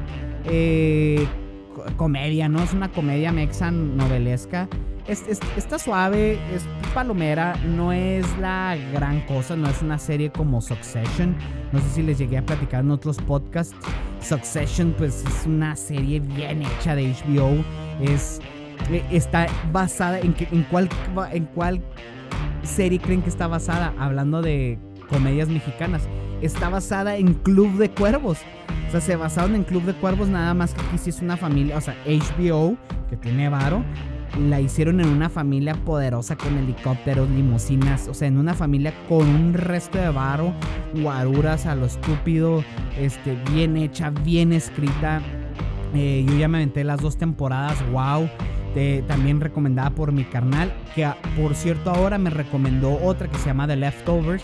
comedia, ¿no? Es una comedia mexa novelesca. Está suave, es palomera, no es la gran cosa, no es una serie como Succession. No sé si les llegué a platicar en otros podcasts. Succession, pues es una serie bien hecha de HBO. Está basada en cuál serie creen que está basada, hablando de comedias mexicanas. Está basada en Club de Cuervos. O sea, se basaron en Club de Cuervos, nada más que aquí sí es una familia. O sea, HBO, que tiene varo, la hicieron en una familia poderosa con helicópteros, limusinas. O sea, en una familia con un resto de varo, guaruras a lo estúpido, bien hecha, bien escrita. Yo ya me aventé las 2 temporadas, wow. También recomendada por mi carnal, que por cierto ahora me recomendó otra que se llama The Leftovers,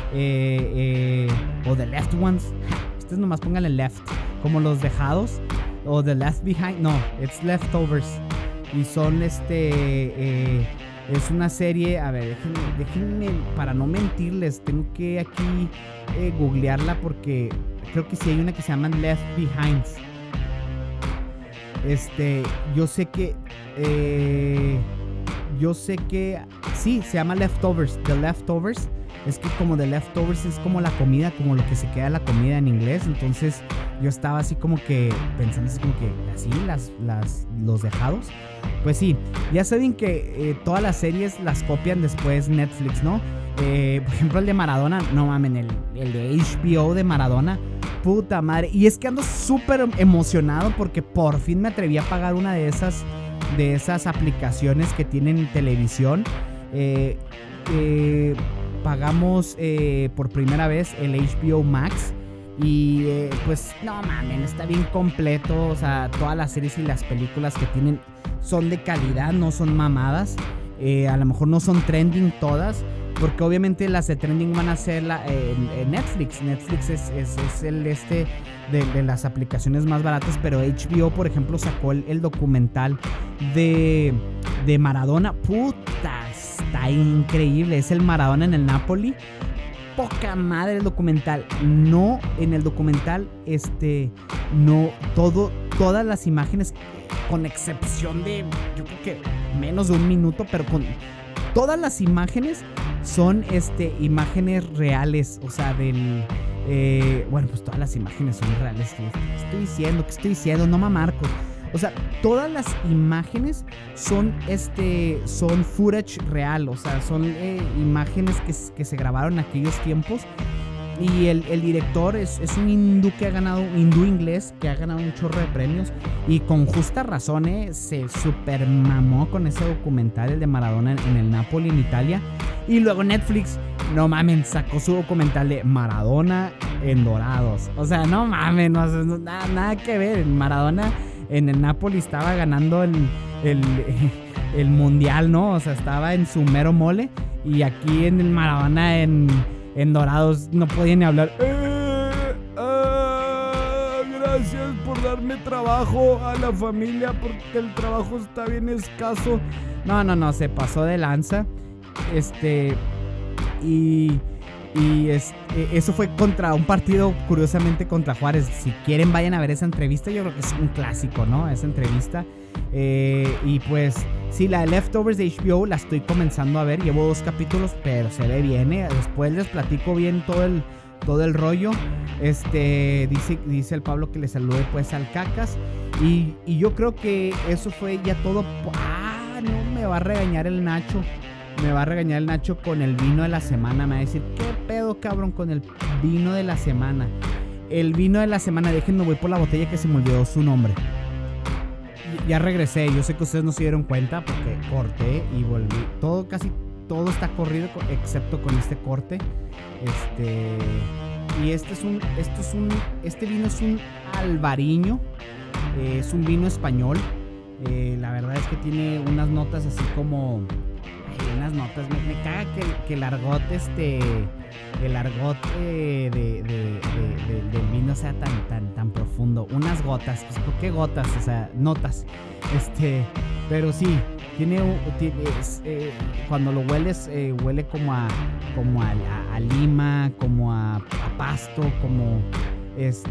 o The Left Ones. Ustedes nomás pónganle left, como los dejados, o The Left Behind. No, it's Leftovers. Y son es una serie, a ver, déjenme, para no mentirles, tengo que aquí googlearla, porque creo que sí hay una que se llama Left Behind. Yo sé que sí, se llama Leftovers, The Leftovers. Es que como The Leftovers es como la comida, como lo que se queda de la comida en inglés. Entonces yo estaba así como que pensando así como que así los dejados. Pues sí, ya saben que todas las series las copian después Netflix, ¿no? Por ejemplo, el de Maradona, no mamen, el de HBO de Maradona, puta madre. Y es que ando súper emocionado porque por fin me atreví a pagar una de esas aplicaciones que tienen televisión. Pagamos por primera vez el HBO Max. Y pues no mamen, está bien completo. O sea, todas las series y las películas que tienen son de calidad, no son mamadas. A lo mejor no son trending todas, porque obviamente las de trending van a ser Netflix. Netflix es el de las aplicaciones más baratas. Pero HBO, por ejemplo, sacó el documental de Maradona. Puta, está increíble. Es el Maradona en el Napoli. Poca madre el documental. No, en el documental, no, todas las imágenes, con excepción de, yo creo que menos de un minuto, pero con todas las imágenes son, imágenes reales. O sea, bueno, pues todas las imágenes son reales. ¿Qué estoy diciendo? No, Marcos. O sea, todas las imágenes son footage real. O sea, son imágenes que se grabaron en aquellos tiempos. Y el director es un hindú hindú inglés que ha ganado un chorro de premios. Y con justa razón, se super mamó con ese documental, el de Maradona en el Napoli, en Italia. Y luego Netflix, no mamen, sacó su documental de Maradona en Dorados. O sea, no mamen, nada que ver. Maradona en el Napoli estaba ganando el mundial, ¿no? O sea, estaba en su mero mole. Y aquí en el Maradona en Dorados no podía ni hablar. Gracias por darme trabajo a la familia porque el trabajo está bien escaso. No, se pasó de lanza. Eso fue contra un partido, curiosamente contra Juárez. Si quieren vayan a ver esa entrevista, yo creo que es un clásico, ¿no? Esa entrevista. Y pues sí, la de Leftovers de HBO la estoy comenzando a ver. Llevo 2 capítulos, pero se ve bien, Después les platico bien todo el rollo. Dice el Pablo que le salude pues al Cacas. Y yo creo que eso fue ya todo. No, me va a regañar el Nacho. Con el vino de la semana. Me va a decir, ¿qué pedo, cabrón, con el vino de la semana? El vino de la semana, déjenme, voy por la botella que se me olvidó su nombre. Ya regresé, yo sé que ustedes no se dieron cuenta porque corté y volví. Casi todo está corrido excepto con este corte. Y este vino es un albariño. Es un vino español. La verdad es que tiene unas notas así como... unas notas, me caga que el argot del vino sea tan profundo. Unas gotas, pues ¿por qué gotas? O sea, notas. Pero sí, cuando lo hueles, huele como a lima, como a pasto, como es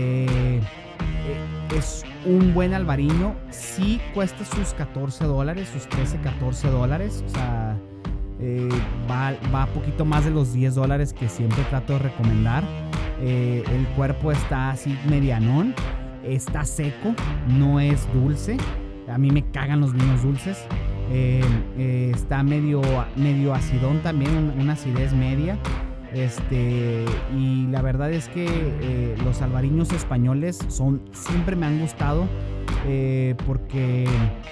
un buen albariño. Sí cuesta sus $14, sus $13-14. O sea, va poquito más de los $10 que siempre trato de recomendar. El cuerpo está así medianón. Está seco, no es dulce. A mí me cagan los vinos dulces. Está medio acidón también, una acidez media. Y la verdad es que los albariños españoles siempre me han gustado, porque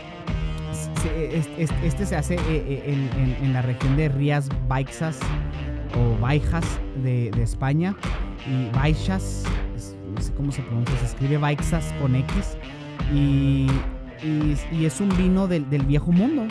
se hace en la región de Rías Baixas o Baixas de España, y Baixas, no sé cómo se pronuncia, se escribe Baixas con X, y es un vino del viejo mundo.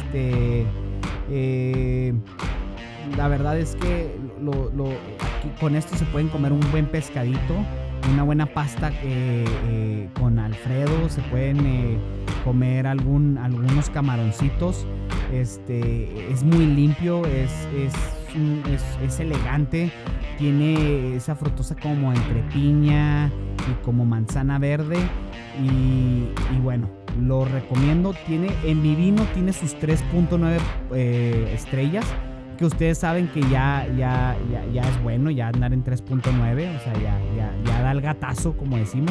La verdad es que aquí con esto se pueden comer un buen pescadito, una buena pasta con Alfredo. Se pueden comer algunos camaroncitos. Es muy limpio, es elegante. Tiene esa frutosa como entre piña y como manzana verde. Y bueno, lo recomiendo. En mi vino tiene sus 3.9 estrellas. Que ustedes saben que ya es bueno ya andar en 3.9, o sea, ya da el gatazo, como decimos.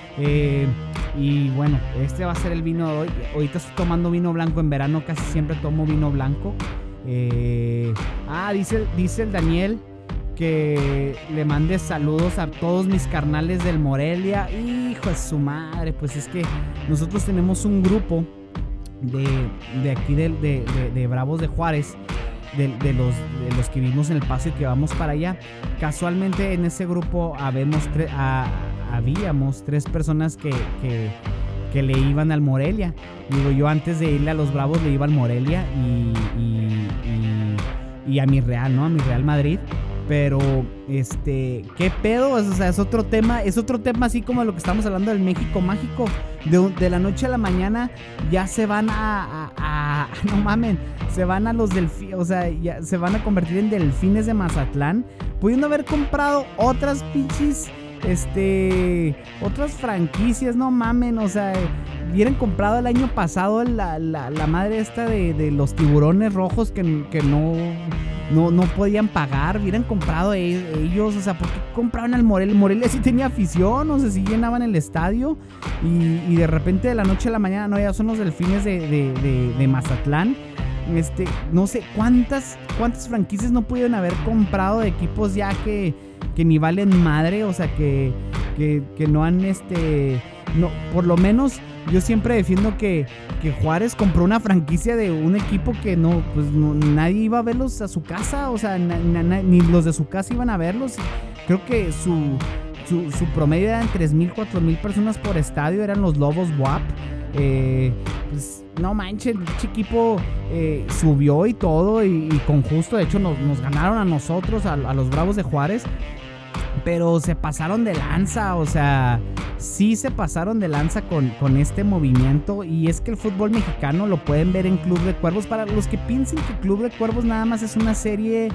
Y bueno, este va a ser el vino de hoy. Ahorita estoy tomando vino blanco. En verano casi siempre tomo vino blanco. Dice el Daniel que le mande saludos a todos mis carnales del Morelia. Hijo de su madre, pues es que nosotros tenemos un grupo de aquí de Bravos de Juárez. De los que vivimos en El Paso y que vamos para allá. Casualmente en ese grupo habíamos 3 personas que le iban al Morelia. Digo, yo antes de irle a los Bravos le iba al Morelia y a mi Real, ¿no? A mi Real Madrid. Pero, ¿qué pedo? O sea, es otro tema así como lo que estamos hablando del México mágico. De la noche a la mañana ya se van no mamen, se van a los delfines, o sea, ya se van a convertir en delfines de Mazatlán, pudiendo haber comprado otras pinches, otras franquicias, no mamen, o sea, hubieran comprado el año pasado la madre esta de los tiburones rojos que no no podían pagar, hubieran comprado ellos, o sea, ¿por qué compraban al Morelia? Morelia sí tenía afición, o sea, sí llenaban el estadio y de repente de la noche a la mañana, no, ya son los Delfines de Mazatlán. No sé cuántas franquicias no pudieron haber comprado de equipos ya que ni valen madre, o sea, que no han, no, por lo menos yo siempre defiendo que Juárez compró una franquicia de un equipo que nadie iba a verlos a su casa, o sea, ni los de su casa iban a verlos. Creo que su promedio eran 3,000, 4,000 personas por estadio, eran los Lobos WAP. Pues no manches, el equipo subió y todo, y con justo, de hecho nos ganaron a nosotros, a los Bravos de Juárez, pero se pasaron de lanza, o sea, sí se pasaron de lanza con este movimiento. Y es que el fútbol mexicano lo pueden ver en Club de Cuervos. Para los que piensen que Club de Cuervos nada más es una serie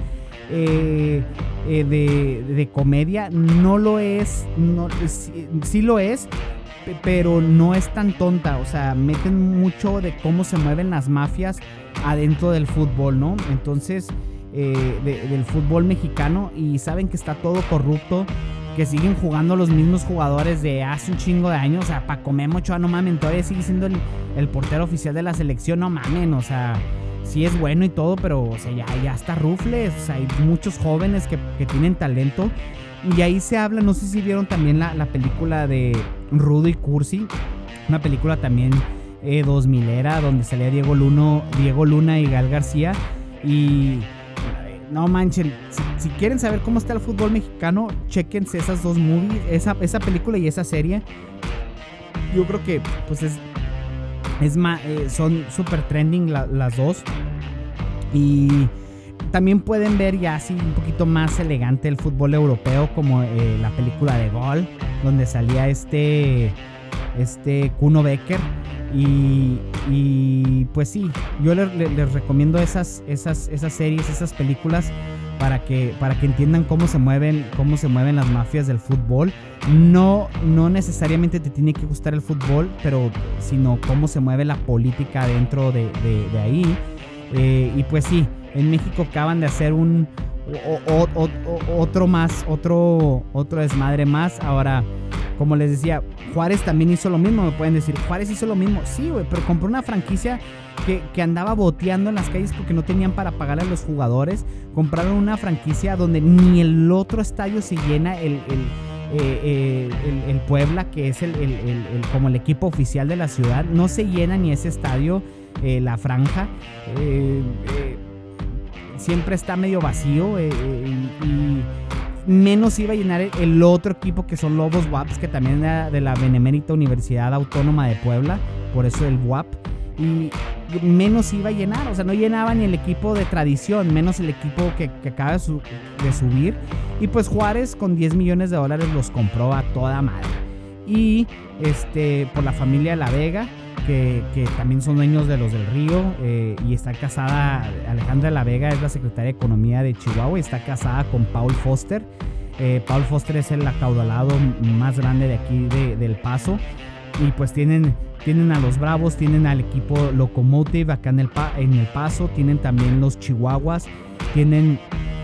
de comedia, no lo es, no, sí lo es, pero no es tan tonta, o sea, meten mucho de cómo se mueven las mafias adentro del fútbol, ¿no? Entonces, del fútbol mexicano, y saben que está todo corrupto, que siguen jugando los mismos jugadores de hace un chingo de años. O sea, Paco Memo Ochoa, no mamen, todavía sigue siendo el portero oficial de la selección, no mamen, o sea, sí es bueno y todo, pero, o sea, ya está rufles, o sea, hay muchos jóvenes que tienen talento. Y ahí se habla, no sé si vieron también la película de Rudo y Cursi, una película también 2000era, donde salía Diego Luna y Gal García. Y no manchen, si quieren saber cómo está el fútbol mexicano, chéquense esas dos movies, esa película y esa serie. Yo creo que pues son super trending las dos. Y también pueden ver ya así un poquito más elegante el fútbol europeo, como la película de Gol, donde salía Kuno Becker. Y pues sí, yo les recomiendo esas series, esas películas, para que entiendan cómo se mueven las mafias del fútbol. No necesariamente te tiene que gustar el fútbol, pero sino cómo se mueve la política dentro de ahí. Y pues sí, en México acaban de hacer otro desmadre más. Ahora, como les decía, Juárez también hizo lo mismo. Me pueden decir, Juárez hizo lo mismo. Sí, güey, pero compró una franquicia que andaba boteando en las calles porque no tenían para pagarle a los jugadores. Compraron una franquicia donde ni el otro estadio se llena, el Puebla, que es como el equipo oficial de la ciudad. No se llena ni ese estadio, la Franja. Siempre está medio vacío, y menos iba a llenar el otro equipo, que son Lobos WAPs, que también era de la Benemérita Universidad Autónoma de Puebla, por eso el WAP, y menos iba a llenar, o sea, no llenaba ni el equipo de tradición, menos el equipo que acaba de subir. Y pues Juárez con $10 millones los compró a toda madre. Y por la familia La Vega, que también son dueños de los del Río, y está casada, Alejandra La Vega es la secretaria de Economía de Chihuahua, y está casada con Paul Foster. Paul Foster es el acaudalado más grande de aquí del Paso. Y pues tienen a los Bravos, tienen al equipo Locomotive acá en el Paso, tienen también los Chihuahuas, tienen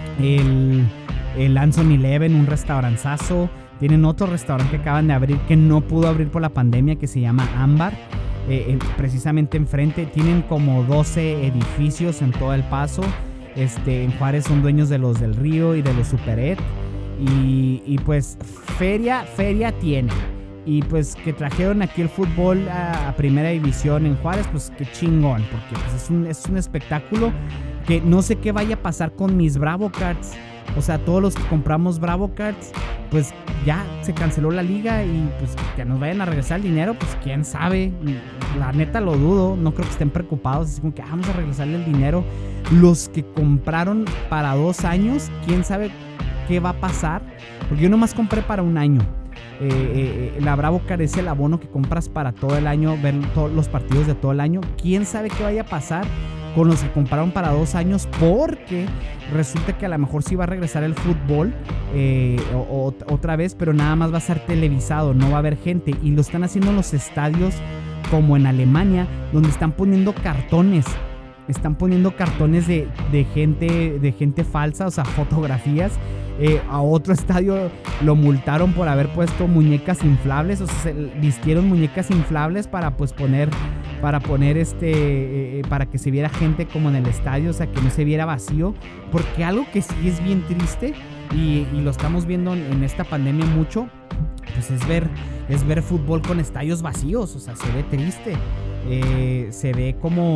el Anson Eleven, un restauranzazo, tienen otro restaurante que acaban de abrir, que no pudo abrir por la pandemia, que se llama Ámbar. Precisamente enfrente tienen como 12 edificios en todo el Paso. En Juárez son dueños de los del Río y de los Superet, y pues feria tienen. Y pues que trajeron aquí el fútbol a primera división en Juárez, pues qué chingón, porque pues es un espectáculo que no sé qué vaya a pasar con mis Bravo Cards. O sea, todos los que compramos Bravo Cards, pues ya se canceló la liga, y pues que nos vayan a regresar el dinero, pues quién sabe. La neta lo dudo, no creo que estén preocupados, así como que vamos a regresarle el dinero. Los que compraron para 2 años, quién sabe qué va a pasar, porque yo nomás compré para 1 año. La Bravo Card es el abono que compras para todo el año, ver todos los partidos de todo el año. Quién sabe qué vaya a pasar con los que compraron para 2 años, porque resulta que a lo mejor sí va a regresar el fútbol otra vez, pero nada más va a ser televisado, no va a haber gente, y lo están haciendo en los estadios como en Alemania, donde están poniendo cartones están poniendo cartones de gente falsa, o sea, fotografías. A otro estadio lo multaron por haber puesto muñecas inflables, o sea, se vistieron muñecas inflables para pues para que se viera gente como en el estadio, o sea, que no se viera vacío, porque algo que sí es bien triste y lo estamos viendo en esta pandemia mucho, pues es ver fútbol con estadios vacíos, o sea, se ve triste, se ve como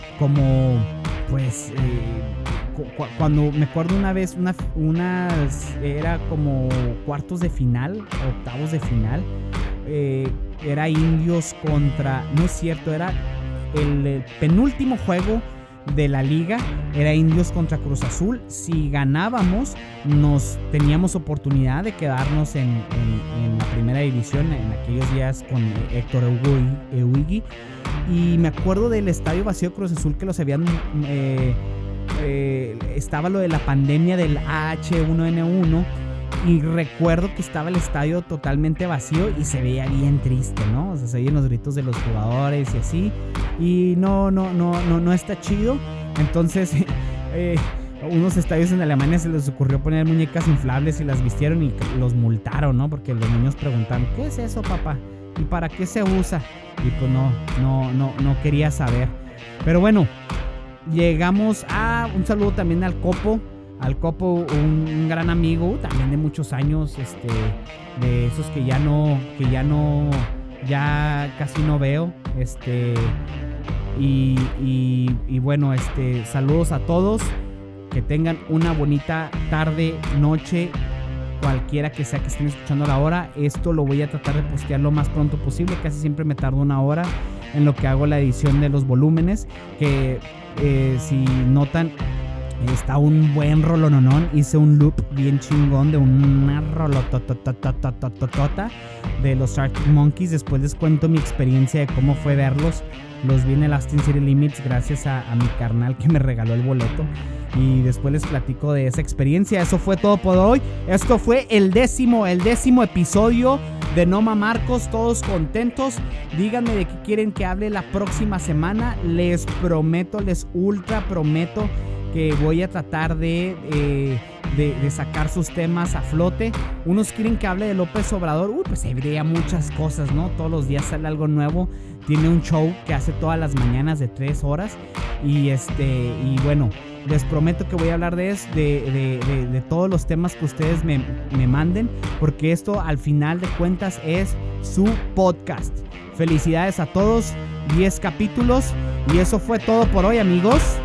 pues cuando me acuerdo una vez era como cuartos de final, octavos de final, era Indios contra, no es cierto, era el penúltimo juego de la liga, era Indios contra Cruz Azul. Si ganábamos, teníamos oportunidad de quedarnos en la primera división en aquellos días con Héctor Euigui. Y me acuerdo del estadio vacío de Cruz Azul, que los habían estaba lo de la pandemia del H1N1, y recuerdo que estaba el estadio totalmente vacío y se veía bien triste, ¿no? O sea, se oían los gritos de los jugadores y así, y no está chido. Entonces unos estadios en Alemania se les ocurrió poner muñecas inflables y las vistieron y los multaron, ¿no? Porque los niños preguntaron, ¿qué es eso, papá? ¿Y para qué se usa? Y pues no quería saber. Pero bueno, llegamos a un saludo también al Copo, un gran amigo también de muchos años, de esos que ya casi no veo, y bueno, saludos a todos, que tengan una bonita tarde, noche, cualquiera que sea que estén escuchando a la hora. Esto lo voy a tratar de postear lo más pronto posible, casi siempre me tardo una hora en lo que hago la edición de los volúmenes, que si notan, está un buen rolononón. Hice un loop bien chingón de una rolototototototota de los Arctic Monkeys. Después les cuento mi experiencia de cómo fue verlos. Los vi en el Austin City Limits gracias a mi carnal que me regaló el boleto. Y después les platico de esa experiencia. Eso fue todo por hoy. Esto fue el décimo episodio de Noma Marcos. Todos contentos. Díganme de qué quieren que hable la próxima semana. Les prometo, les ultra prometo que voy a tratar de sacar sus temas a flote. Unos quieren que hable de López Obrador. Pues habría muchas cosas, ¿no? Todos los días sale algo nuevo. Tiene un show que hace todas las mañanas de 3 horas. Y bueno, les prometo que voy a hablar de todos los temas que ustedes me manden, porque esto al final de cuentas es su podcast. Felicidades a todos, 10 capítulos, y eso fue todo por hoy, amigos.